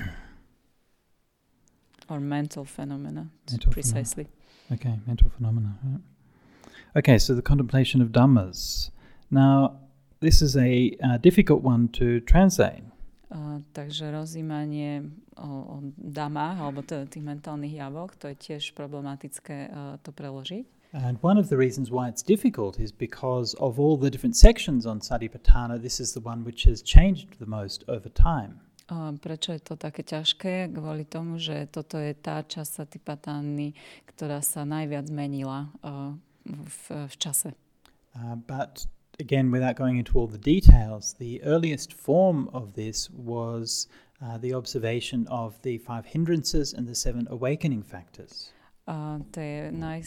or mental phenomena, Mental precisely. okay, mental phenomena. Right. Okay, so the contemplation of dhammas. Now, this is a difficult one to translate. Takže rozjímanie o damách, alebo teda tých mentálnych javoch, to je tiež problematické to preložiť. And one of the reasons why it's difficult is because of all the different sections on Satipatthana, this is the one which has changed the most over time. Prečo je to také ťažké? Kvôli tomu, že toto je tá časť Satipatthány, ktorá sa najviac zmenila v čase. But again, without going into all the details, the earliest form of this was the observation of the 5 hindrances and the 7 awakening factors. Tie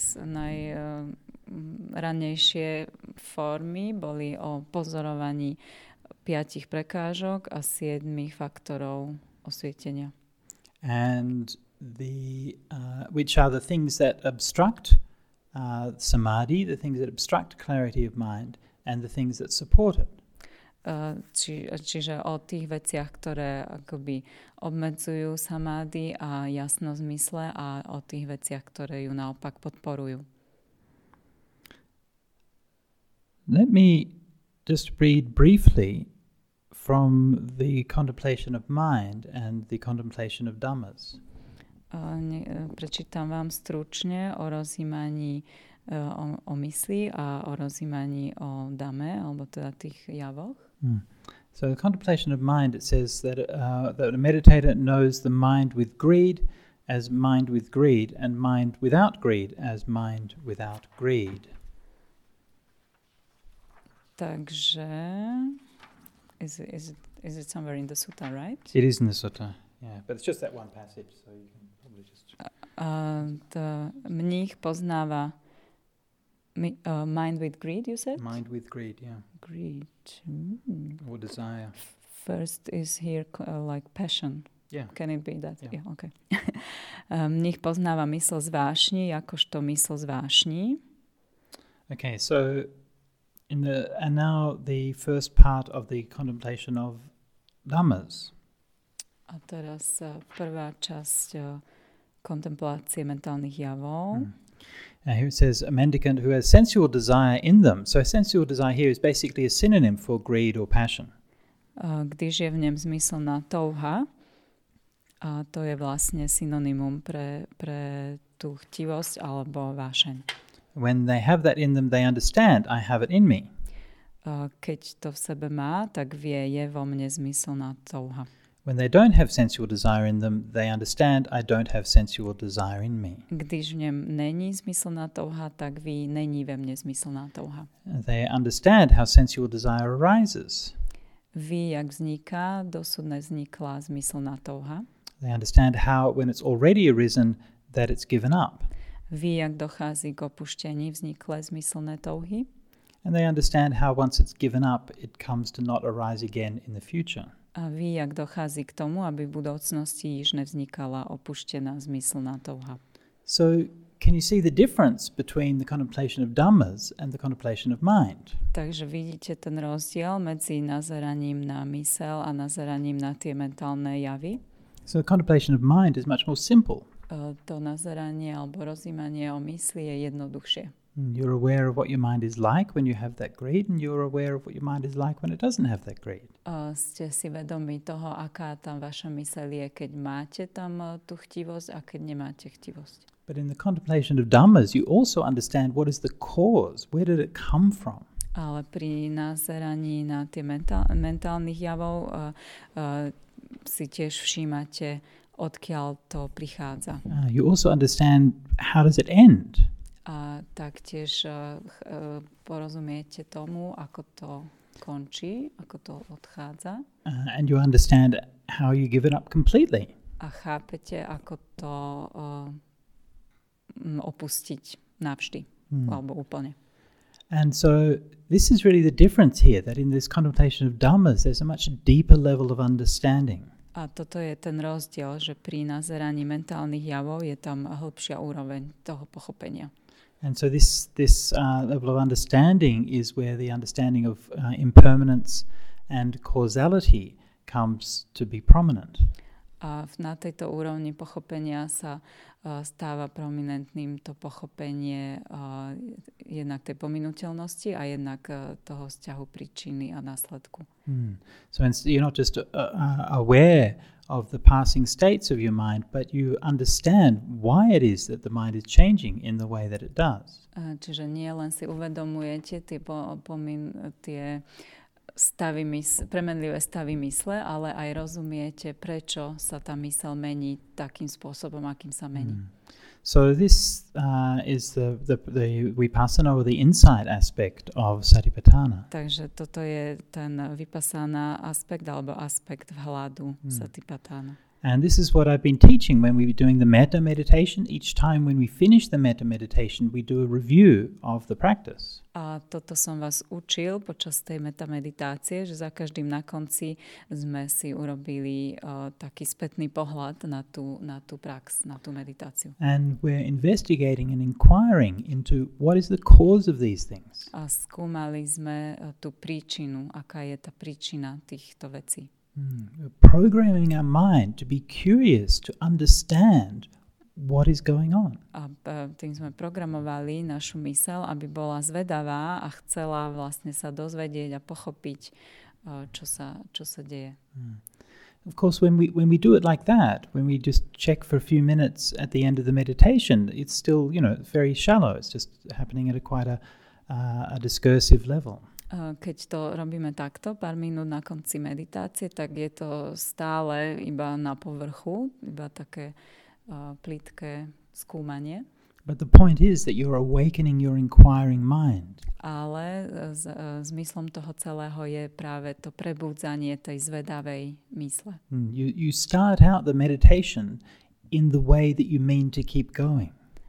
najranejšie formy boli o pozorovaní 5 prekážok a 7 faktorov osvietenia. And which are the things that obstruct samadhi, the things that obstruct clarity of mind, and the things that support it. Čiže o tých veciach, ktoré akoby obmedzujú samády a jasnosť mysle a o tých veciach, ktoré ju naopak podporujú. Let me just read briefly from the contemplation of mind and the contemplation of dhammas. Prečítam vám stručne o rozjímaní o mysli a o rozjímaní o dame, alebo teda tých javoch. So the contemplation of mind, it says that a meditator knows the mind with greed as mind with greed and mind without greed as mind without greed. Takže is it somewhere in the sutta, right? It is in the sutta, yeah, but it's just that one passage, so you can probably just... Mních poznáva mind with greed, you said? Mind with greed, yeah. Greed. Or desire. First is here like passion. Yeah. Can it be that? Yeah. Okay. Mních poznáva mysl z vášní, jakožto mysl z vášní. Okay, so and now the first part of the contemplation of dhammas. A teraz prvá časť kontemplácie mentálnych javov. Here it says, a mendicant who has sensual desire in them. So sensual desire here is basically a synonym for greed or passion. Když je v něm zmyslná touha, a to je vlastne synonymum pre tú chtivosť alebo vášeň. When they have that in them, they understand, I have it in me. Keď to v sebe má, tak vie, je vo mne zmyslná touha. When they don't have sensual desire in them, they understand, I don't have sensual desire in me. Když v něm není zmyslná touha, tak ví, není ve mne zmyslná touha. They understand how sensual desire arises. Ví, jak vzniká, dosud nevznikla zmyslná touha. They understand how, when it's already arisen, that it's given up. Ví, jak dochází k opuštění vzniklé zmyslné touhy. And they understand how once it's given up, it comes to not arise again in the future. A ví, jak dochází k tomu, aby v budoucnosti již nevznikala opuštěná zmyslná touha. So can you see the difference between the contemplation of dhammas and the contemplation of mind? Takže vidíte ten rozdiel medzi nazeraním na mysel a nazeraním na tie mentálne javy. So the contemplation of mind is much more simple. To nazeranie alebo rozjímanie o mysli je jednoduchšie. You're aware of what your mind is like when you have that greed, and you're aware of what your mind is like when it doesn't have that greed. Ste si vedomí toho, aká tam vaša myseľ je, keď máte tam tú chtivosť a keď nemáte chtivosť. But in the contemplation of dhammas, you also understand what is the cause, where did it come from? Ale pri nazeraní na tie mentálnych javov si tiež všímate, odkiaľ to prichádza. You also understand how does it end. A taktiež porozumiete tomu, ako to končí, ako to odchádza. And you understand how you give it up completely. A chápete, ako to opustiť navždy, alebo úplne. And so this is really the difference here, that in this contemplation of Dhammas, there's a much deeper level of understanding. A toto je ten rozdiel, že pri nazeraní mentálnych javov je tam hĺbšia úroveň toho pochopenia. And so this level of understanding is where the understanding of impermanence and causality comes to be prominent. A na tejto úrovni pochopenia sa stáva prominentným to pochopenie jednak tej pominuteľnosti a jednak toho vzťahu príčiny a následku. So you're not just aware of the passing states of your mind, but you understand why it is that the mind is changing in the way that it does. Čiže nie len si uvedomujete tie premenlivé stavy mysle, ale aj rozumiete, prečo sa tá myseľ mení takým spôsobom, akým sa mení. So this is the vipassana or the insight aspect of Satipatthana. Takže toto je ten vipassana aspekt alebo aspekt vhľadu Satipatthana. And this is what I've been teaching when we were doing the metta meditation. Each time when we finish the metta meditation, we do a review of the practice. A toto som vás učil počas tej metta meditácie, že za každým na konci sme si urobili taký spätný pohľad na tú prax, na tú meditáciu. And we're investigating and inquiring into what is the cause of these things. A skúmali sme tú príčinu, aká je tá príčina týchto vecí. Programming our mind to be curious, to understand what is going on. A tým sme programovali našu myseľ, aby bola zvedavá a chcela vlastne sa dozvedieť a pochopiť, čo sa deje. Of course, when we do it like that, when we just check for a few minutes at the end of the meditation, it's still, very shallow. It's just happening at quite a discursive level. Keď to robíme takto, pár minút na konci meditácie, tak je to stále iba na povrchu, iba také plitké skúmanie. But the point is that you're awakening your inquiring mind. Ale zmyslom toho celého je práve to prebudzanie tej zvedavej mysle. You start out the meditation in the way that you mean to keep going.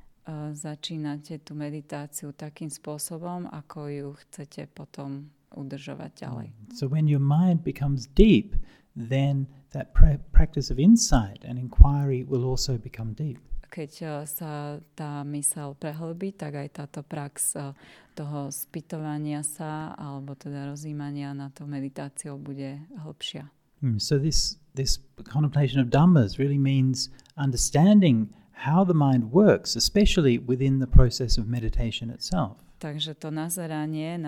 Začínate tú meditáciu takým spôsobom, ako ju chcete potom udržovať ďalej. So when your mind becomes deep, then that practice of insight and inquiry will also become deep. Keď sa tá myseľ prehlbí, tak aj táto prax toho spýtovania sa, alebo teda rozjímania na to meditáciou bude hlbšia. So this contemplation of Dhammas really means understanding how the mind works, especially within the process of meditation itself. Takže to nazeranie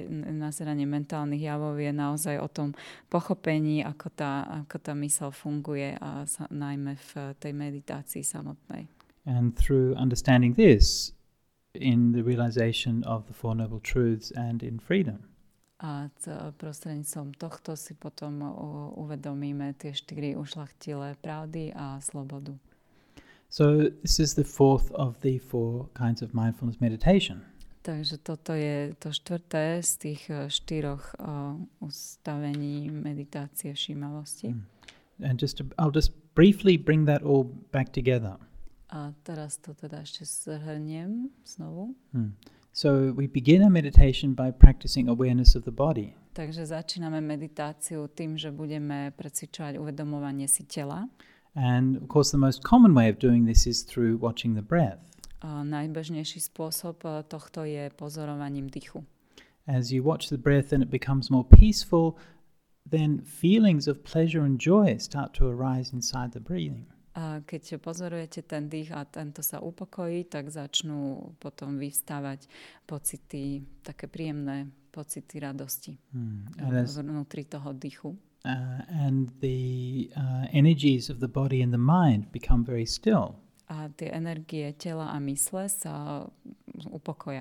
mentálnych javov je naozaj o tom pochopení, ako tá myseľ funguje a najmä v tej meditácii samotnej. And through understanding this, in the realization of the Four Noble Truths and in freedom. A prostredníctvom tohto si potom uvedomíme tie 4 ušľachtilé pravdy a slobodu. So this is the fourth of the 4 kinds of mindfulness meditation. Takže toto je to 4. z tých 4 ustavení meditácie všímavosti. And I'll just briefly bring that all back together. A teraz to teda ešte zhrniem znovu. So we begin our meditation by practicing awareness of the body. Takže začíname meditáciu tým, že budeme precvičovať uvedomovanie si tela. And of course the most common way of doing this is through watching the breath. Najbežnejší spôsob tohto je pozorovaním dýchu. As you watch the breath and it becomes more peaceful, then feelings of pleasure and joy start to arise inside the breathing. A keď pozorujete ten dých a tento sa upokojí, tak začnú potom vyvstávať pocity, také príjemné pocity radosti vnútri toho dýchu. And the energies of the body and the mind become very still. A tie energie tela a mysle sa upokoja.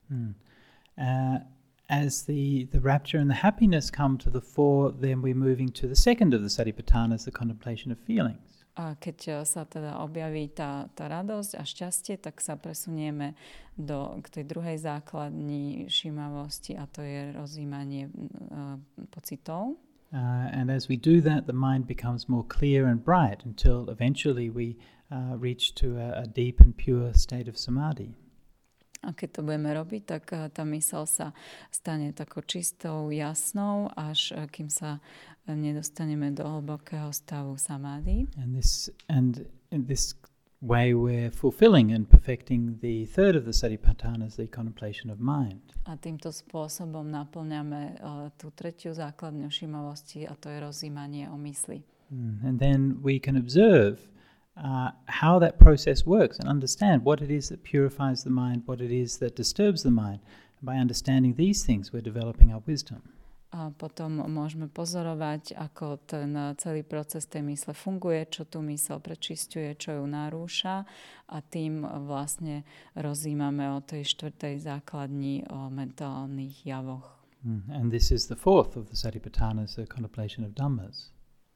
As the rapture and the happiness come to the fore, then we're moving to the second of the Satipatthanas, the contemplation of feelings. A keď sa teda objaví tá radosť a šťastie, tak sa presunieme k tej druhej základni všímavosti a to je rozjímanie pocitov. And as we do that, the mind becomes more clear and bright until eventually we reach to a deep and pure state of samadhi. A keď to budeme robiť, tak tá myseľ sa stane takou čistou, jasnou, až kým sa nedostaneme do hlbokého stavu samády. And in this way we're fulfilling and perfecting the third of the satipatthanas, the contemplation of mind. A týmto spôsobom naplňame tú tretiu základňu všímavosti a to je rozjímanie o mysli. And then we can observe how that process works and understand what it is that purifies the mind, what it is that disturbs the mind. And by understanding these things, we're developing our wisdom. A potom môžeme pozorovať, ako ten celý proces tej mysle funguje, čo tú mysel prečisťuje, čo ju narúša a tým vlastne rozjímame o tej štvrtej základni, o mentálnych javoch. And this is the fourth of the Satipatthanas, the contemplation of Dhammas.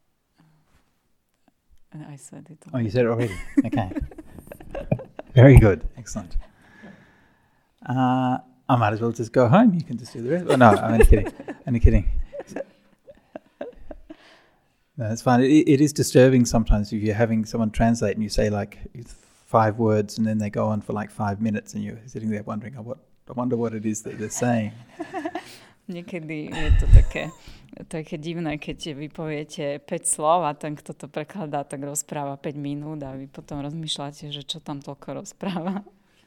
I said it already. Oh, you said it already? Okay. Very good. Excellent. I might as well just go home. You can just do the rest. Oh, no, I'm only kidding. Only kidding. No, it's fine. It is disturbing sometimes if you're having someone translate and you say like 5 words and then they go on for like 5 minutes and you're sitting there wondering, I wonder what it is that they're saying. Niekedy je to také divné, keď vy poviete 5 slov a ten, kto to prekladá, tak rozpráva 5 minút a vy potom rozmýšľate, že čo tam toľko rozpráva.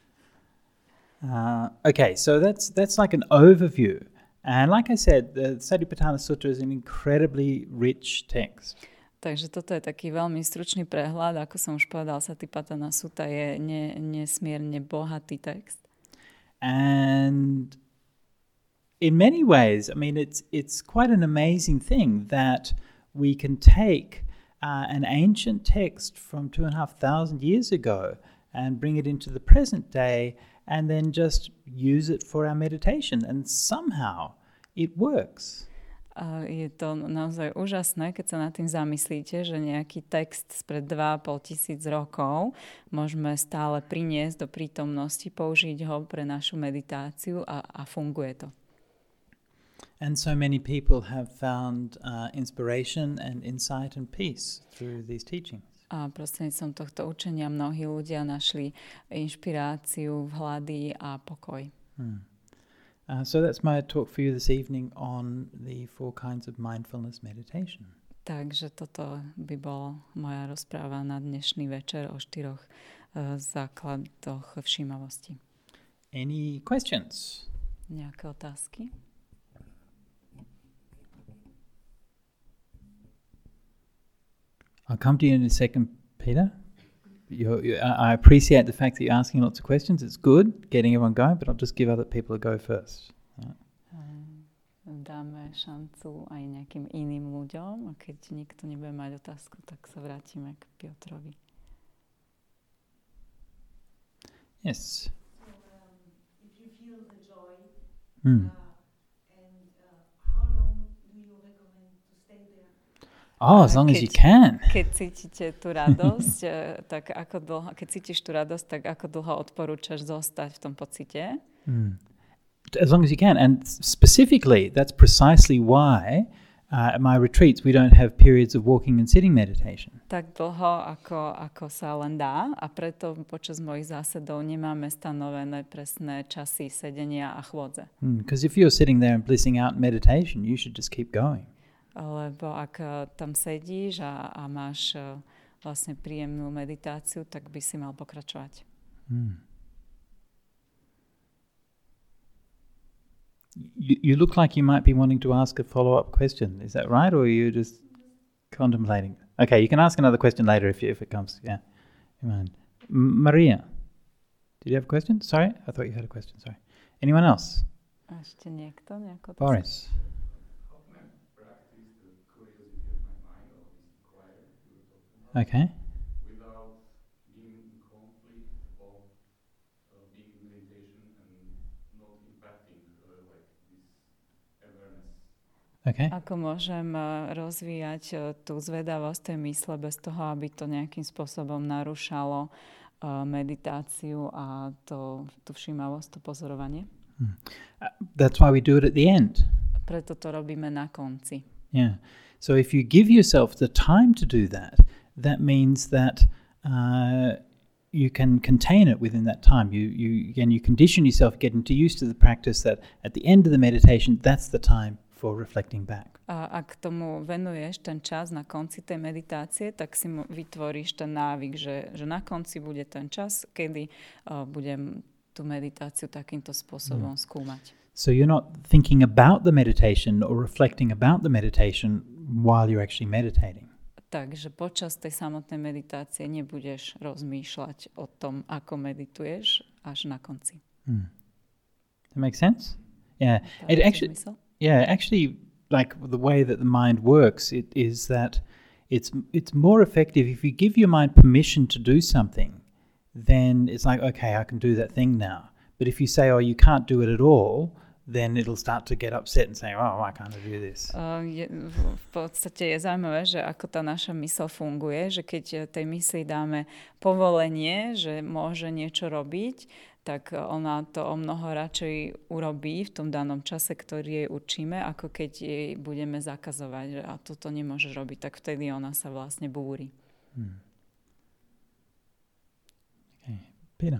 Okay, so that's like an overview. And like I said, the Satipatthana Sutta is an incredibly rich text. Takže toto je taký veľmi stručný prehľad. Ako som už povedal, Satipatthana Sutta je nesmierne bohatý text. And in many ways, I mean, it's quite an amazing thing that we can take an ancient text from 2,500 years ago and bring it into the present day and then just use it for our meditation. And somehow it works. Je to naozaj úžasné, keď sa nad tým zamyslíte, že nejaký text spred 2,5 tisíc rokov môžeme stále priniesť do prítomnosti, použiť ho pre našu meditáciu a funguje to. And so many people have found inspiration and insight and peace through these teachings. A prostredníctvom tohto učenia mnohí ľudia našli inšpiráciu, vhľady a pokoj. So that's my talk for you this evening on the 4 kinds of mindfulness meditation. Takže toto by bola moja rozpráva na dnešný večer o 4 základoch všímavosti. Any questions? Nejaké otázky? I'll come to you in a second, Peter. I appreciate the fact that you're asking lots of questions. It's good getting everyone going, but I'll just give other people a go first. Right. Dáme šancu aj nejakým iným ľuďom a keď nikto nebude mať otázku, tak sa vrátime k Piotrovi. Yes. So, if you feel the joy, and how long do you recommend to stay there? Oh, as long as you can. Keď cítite tú radosť, tak ako dlho, keď cítiš tú radosť, tak ako dlho odporúčaš zostať v tom pocite? As long as you can. And specifically, that's precisely why at my retreats we don't have periods of walking and sitting meditation. Tak dlho, ako sa len dá a preto počas mojich zásadov nemáme stanovené presné časy sedenia a chôdze. Because if you're sitting there and blissing out in meditation, you should just keep going. Lebo ak tam sedíš a máš vlastne príjemnú meditáciu, tak by si mal pokračovať. You look like you might be wanting to ask a follow-up question. Is that right, or are you just contemplating? Okay, you can ask another question later if it comes. Yeah, Maria, did you have a question? Sorry, I thought you had a question. Sorry. Anyone else? Ešte niekto? Boris. Okay. Without being in conflict of being in meditation and not impacting like this awareness. Okay. Ako môžem rozvíjať tú zvedavosť tej mysle bez toho, aby to nejakým spôsobom narušalo meditáciu a tú všímavosť, to pozorovanie? That's why we do it at the end. Preto to robíme na konci. Yeah. So if you give yourself the time to do that, that means that you can contain it within that time. You condition yourself getting used to the practice that at the end of the meditation, that's the time for reflecting back. A ak tomu venuješ ten čas na konci tej meditácie, tak si vytvoríš ten návyk, že na konci bude ten čas, kedy budem tú meditáciu takýmto spôsobom skúmať. So you're not thinking about the meditation or reflecting about the meditation while you're actually meditating. Takže počas tej samotnej meditácie nebudeš rozmýšľať o tom, ako medituješ až na konci. That makes sense? Yeah. Actually, like the way that the mind works, it is that it's more effective if you give your mind permission to do something. Then it's like, okay, I can do that thing now. But if you say, oh, you can't do it at all, then it'll start to get upset and say, oh, why can't I do this? V podstate je zaujímavé, že ako tá naša mysl funguje, že keď tej mysli dáme povolenie, že môže niečo robiť, tak ona to o mnoho radšej urobí v tom danom čase, ktorý jej určíme, ako keď jej budeme zakazovať, že a toto nemôžeš robiť, tak vtedy ona sa vlastne búri. Okay. Peter.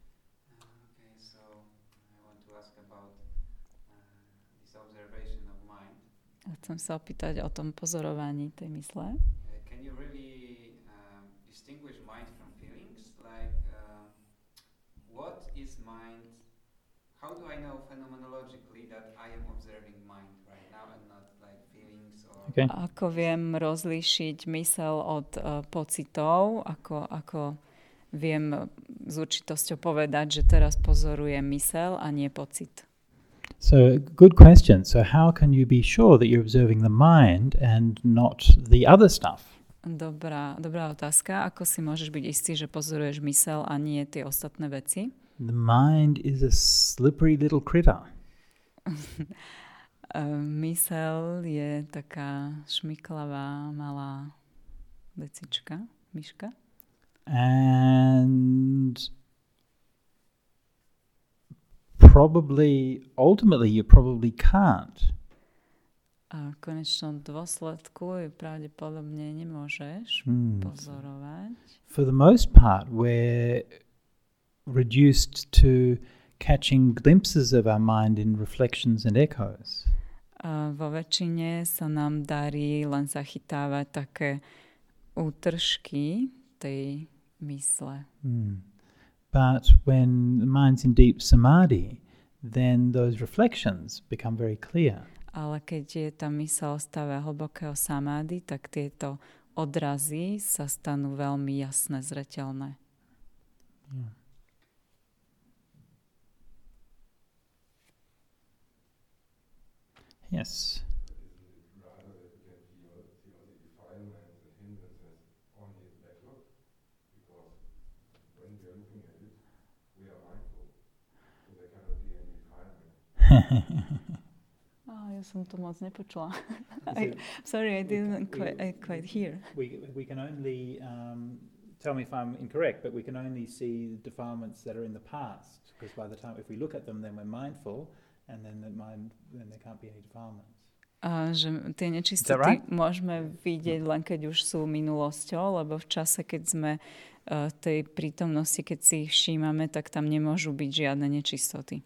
Chcem sa opýtať o tom pozorovaní tej mysle. Can you really distinguish mind from feelings? Like, what is mind? How do I know phenomenologically that I am observing mind right now and not like feelings or... Okay. Ako viem rozlíšiť mysel od pocitov? Ako viem s určitosťou povedať, že teraz pozorujem mysel a nie pocit? So, good question. So, how can you be sure that you're observing the mind and not the other stuff? Dobrá otázka. Ako si môžeš byť istý, že pozoruješ mysel a nie tie ostatné veci? The mind is a slippery little critter. Mysel je taká šmiklavá malá vecička, myška. And ultimately you probably can't. A v konečnom dôsledku pravdepodobne nemôžeš pozorovať. For the most part, we're reduced to catching glimpses of our mind in reflections and echoes. Vo väčšine sa nám darí len zachytávať také útržky tej mysle. But when the mind's in deep samadhi, then those reflections become very clear. Ale keď je tá myseľ v stave hlbokého samády, tak tieto odrazy sa stanú veľmi jasné, zreteľné. Yeah. Yes. Ja som to moc nepočula. Sorry, I didn't quite hear. We can only, tell me if I'm incorrect, but we can only see the defilements that are in the past, because by the time, if we look at them, then we're mindful, and then there can't be any defilements. Že tie nečistoty môžeme vidieť len keď už sú minulosťou, lebo v čase, keď sme tej prítomnosti, keď si ich všímame, tak tam nemôžu byť žiadne nečistoty.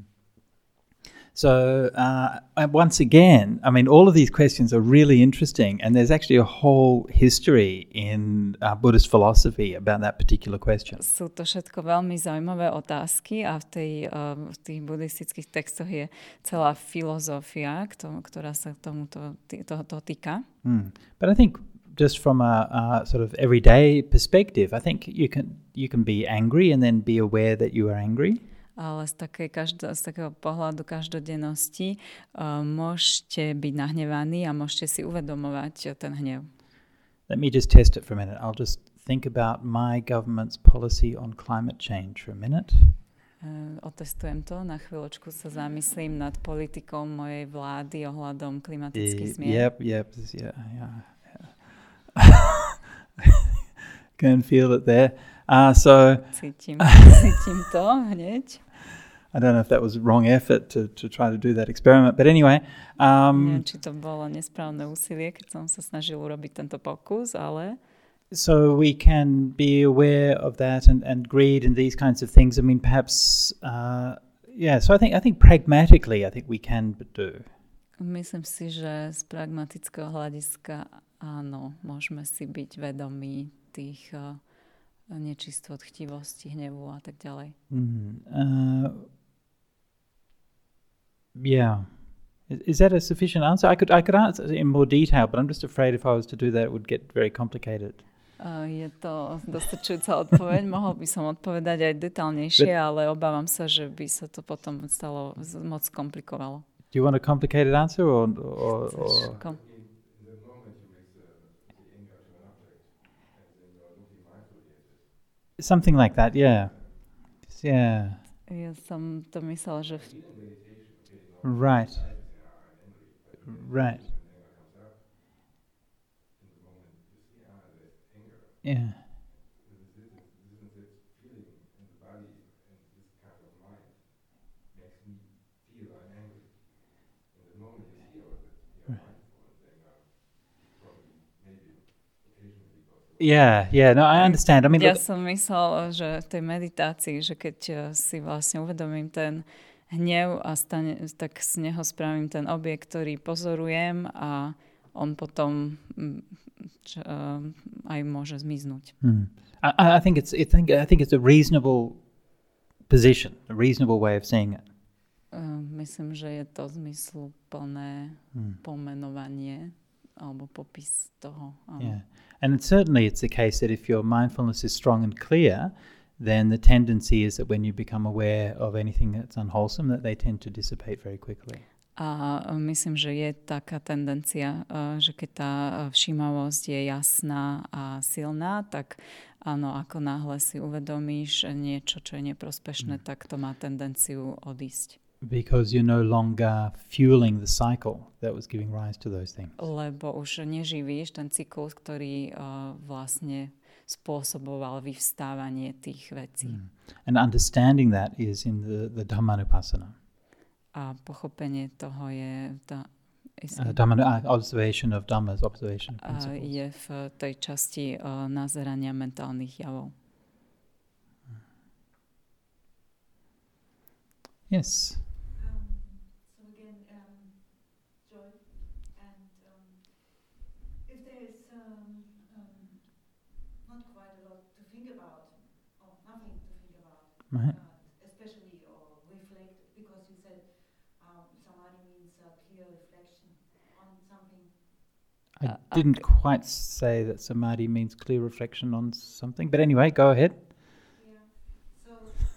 So once again, I mean, all of these questions are really interesting, and there's actually a whole history in Buddhist philosophy about that particular question. Sú to všetko veľmi zaujímavé otázky a v tých buddhistických textoch je celá filozofia, ktorá sa tomuto týka. But I think just from a sort of everyday perspective, I think you can be angry and then be aware that you are angry. Ale z takého pohľadu každodennosti môžete byť nahnevaní a môžete si uvedomovať ten hnev. Let me just test it for a minute. I'll just think about my government's policy on climate change for a minute. Otestujem to, na chvíľočku sa zamyslím nad politikou mojej vlády ohľadom klimatických zmien. Yep, yeah. Can feel it there. Cítim to hneď. I don't know if that was wrong effort to try to do that experiment, but anyway. Neviem, či to bolo nesprávne úsilie, keď som sa snažil urobiť tento pokus, ale... So we can be aware of that and greed and these kinds of things. I mean, perhaps, so I think pragmatically, I think we can do. Myslím si, že z pragmatického hľadiska áno, môžeme si byť vedomí tých nečistot, chtivosti, hnevu a tak ďalej. Yeah. Is that a sufficient answer? I could answer in more detail, but I'm just afraid if I was to do that, it would get very complicated. Je to dostačujúca odpoveď. Mohol by som odpovedať aj detailnejšie, ale obávam sa, že by sa to potom stalo moc komplikovalo. Do you want a complicated answer or something like that? Yeah. Yeah. Ja som to myslel, že Right. Yeah. Yeah, no, I understand. I mean, ja som myslel, že v tej meditácii, že keď si vlastne uvedomím ten hnev a tak z neho spravím ten objekt, ktorý pozorujem a on potom aj môže zmiznúť. I think it's a reasonable position, a reasonable way of seeing it. Myslím, že je to zmysluplné pomenovanie alebo popis toho. Yeah. And certainly it's the case that if your mindfulness is strong and clear, then the tendency is that when you become aware of anything that's unwholesome, that they tend to dissipate very quickly. A myslím, že je taká tendencia, že keď tá všímavosť je jasná a silná, tak áno, ako náhle si uvedomíš niečo, čo je neprospešné, tak to má tendenciu odísť. Because you're no longer fueling the cycle that was giving rise to those things. Lebo už neživíš ten cyklus, ktorý vlastne spôsoboval vyvstávanie tých vecí. And understanding that is in the Dhammanupassana. A pochopenie toho je observation of Dhammas, observation of principles. Je v tej časti nazerania mentálnych javov. Yes. So again, joy, and if there is not quite a lot to think about, or nothing to think about, Right. especially or reflect, because you said samadhi means clear reflection on something. I didn't quite say that samadhi means clear reflection on something, but anyway, go ahead. Yeah. So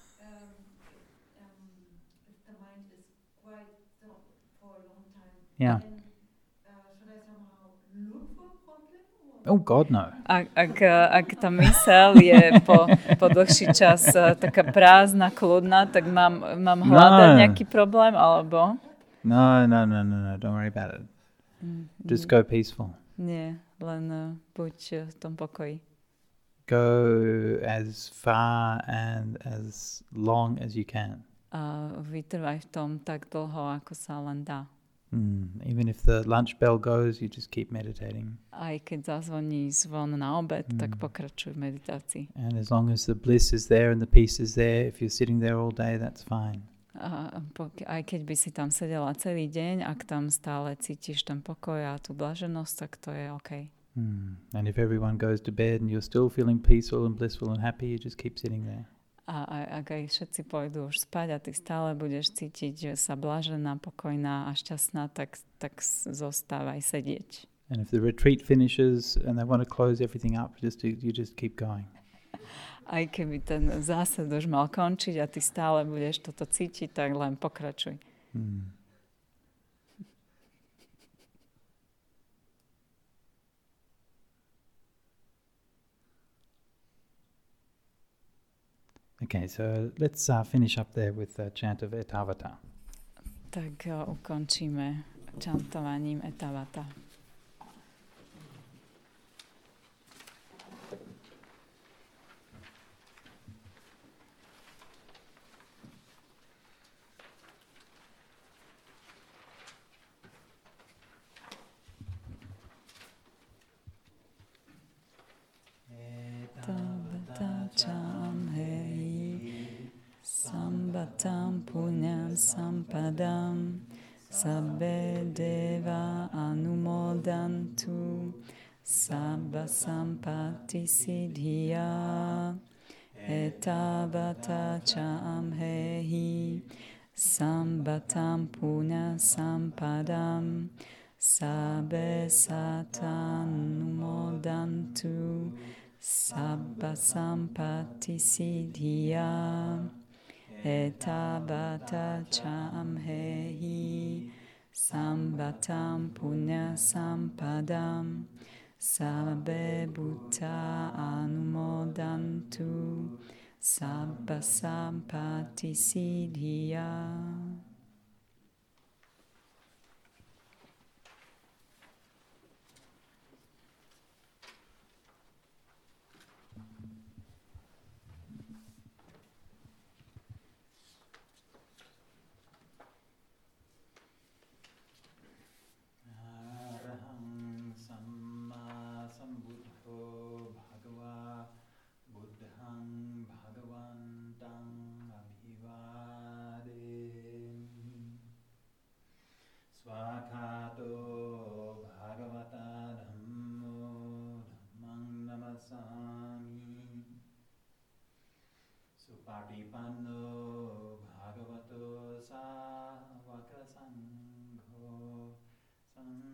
if the mind is quiet for a long time, Yeah. then should I somehow look for a problem? Oh God, no. Ak tá myseľ je po dlhší čas taká prázdna, kľudná, tak mám hľadať nejaký problém, alebo? No, don't worry about it. Just go peaceful. Nie, len buď v tom pokoji. Go as far and as long as you can. A vytrvaj v tom tak dlho, ako sa len dá. Even if the lunch bell goes, you just keep meditating. Aj keď zazvoní zvon na obed, tak pokračuj v meditácii. And as long as the bliss is there and the peace is there, if you're sitting there all day, that's fine. Aj keď by si tam sedela celý deň, ak tam stále cítiš ten pokoj a tú blaženosť, tak to je OK. And if everyone goes to bed and you're still feeling peaceful and blissful and happy, you just keep sitting there. A ak aj všetci pôjdu už spať a ty stále budeš cítiť, že sa blažená, pokojná a šťastná, tak zostávaj sedieť. And if the retreat finishes and they want to close everything up, you just keep going. Aj keby ten zásad už mal končiť a ty stále budeš toto cítiť, tak len pokračuj. Okay, so let's finish up there with the chant of Etavata. Tak ukončíme čantovaním Etavata. Cham hei sambatam punyam sampadam sabbe deva anumodantu sabba sampatti siddhya etavata cham hei sambatam punya sampadam sabbe satanumodantu Sabba sampatti siddhya etavata cham hei sambatam punya sampadam sabbe bhutta anumodantu sabba sampatti siddhya. Patipanno bhagavato sāvaka sangho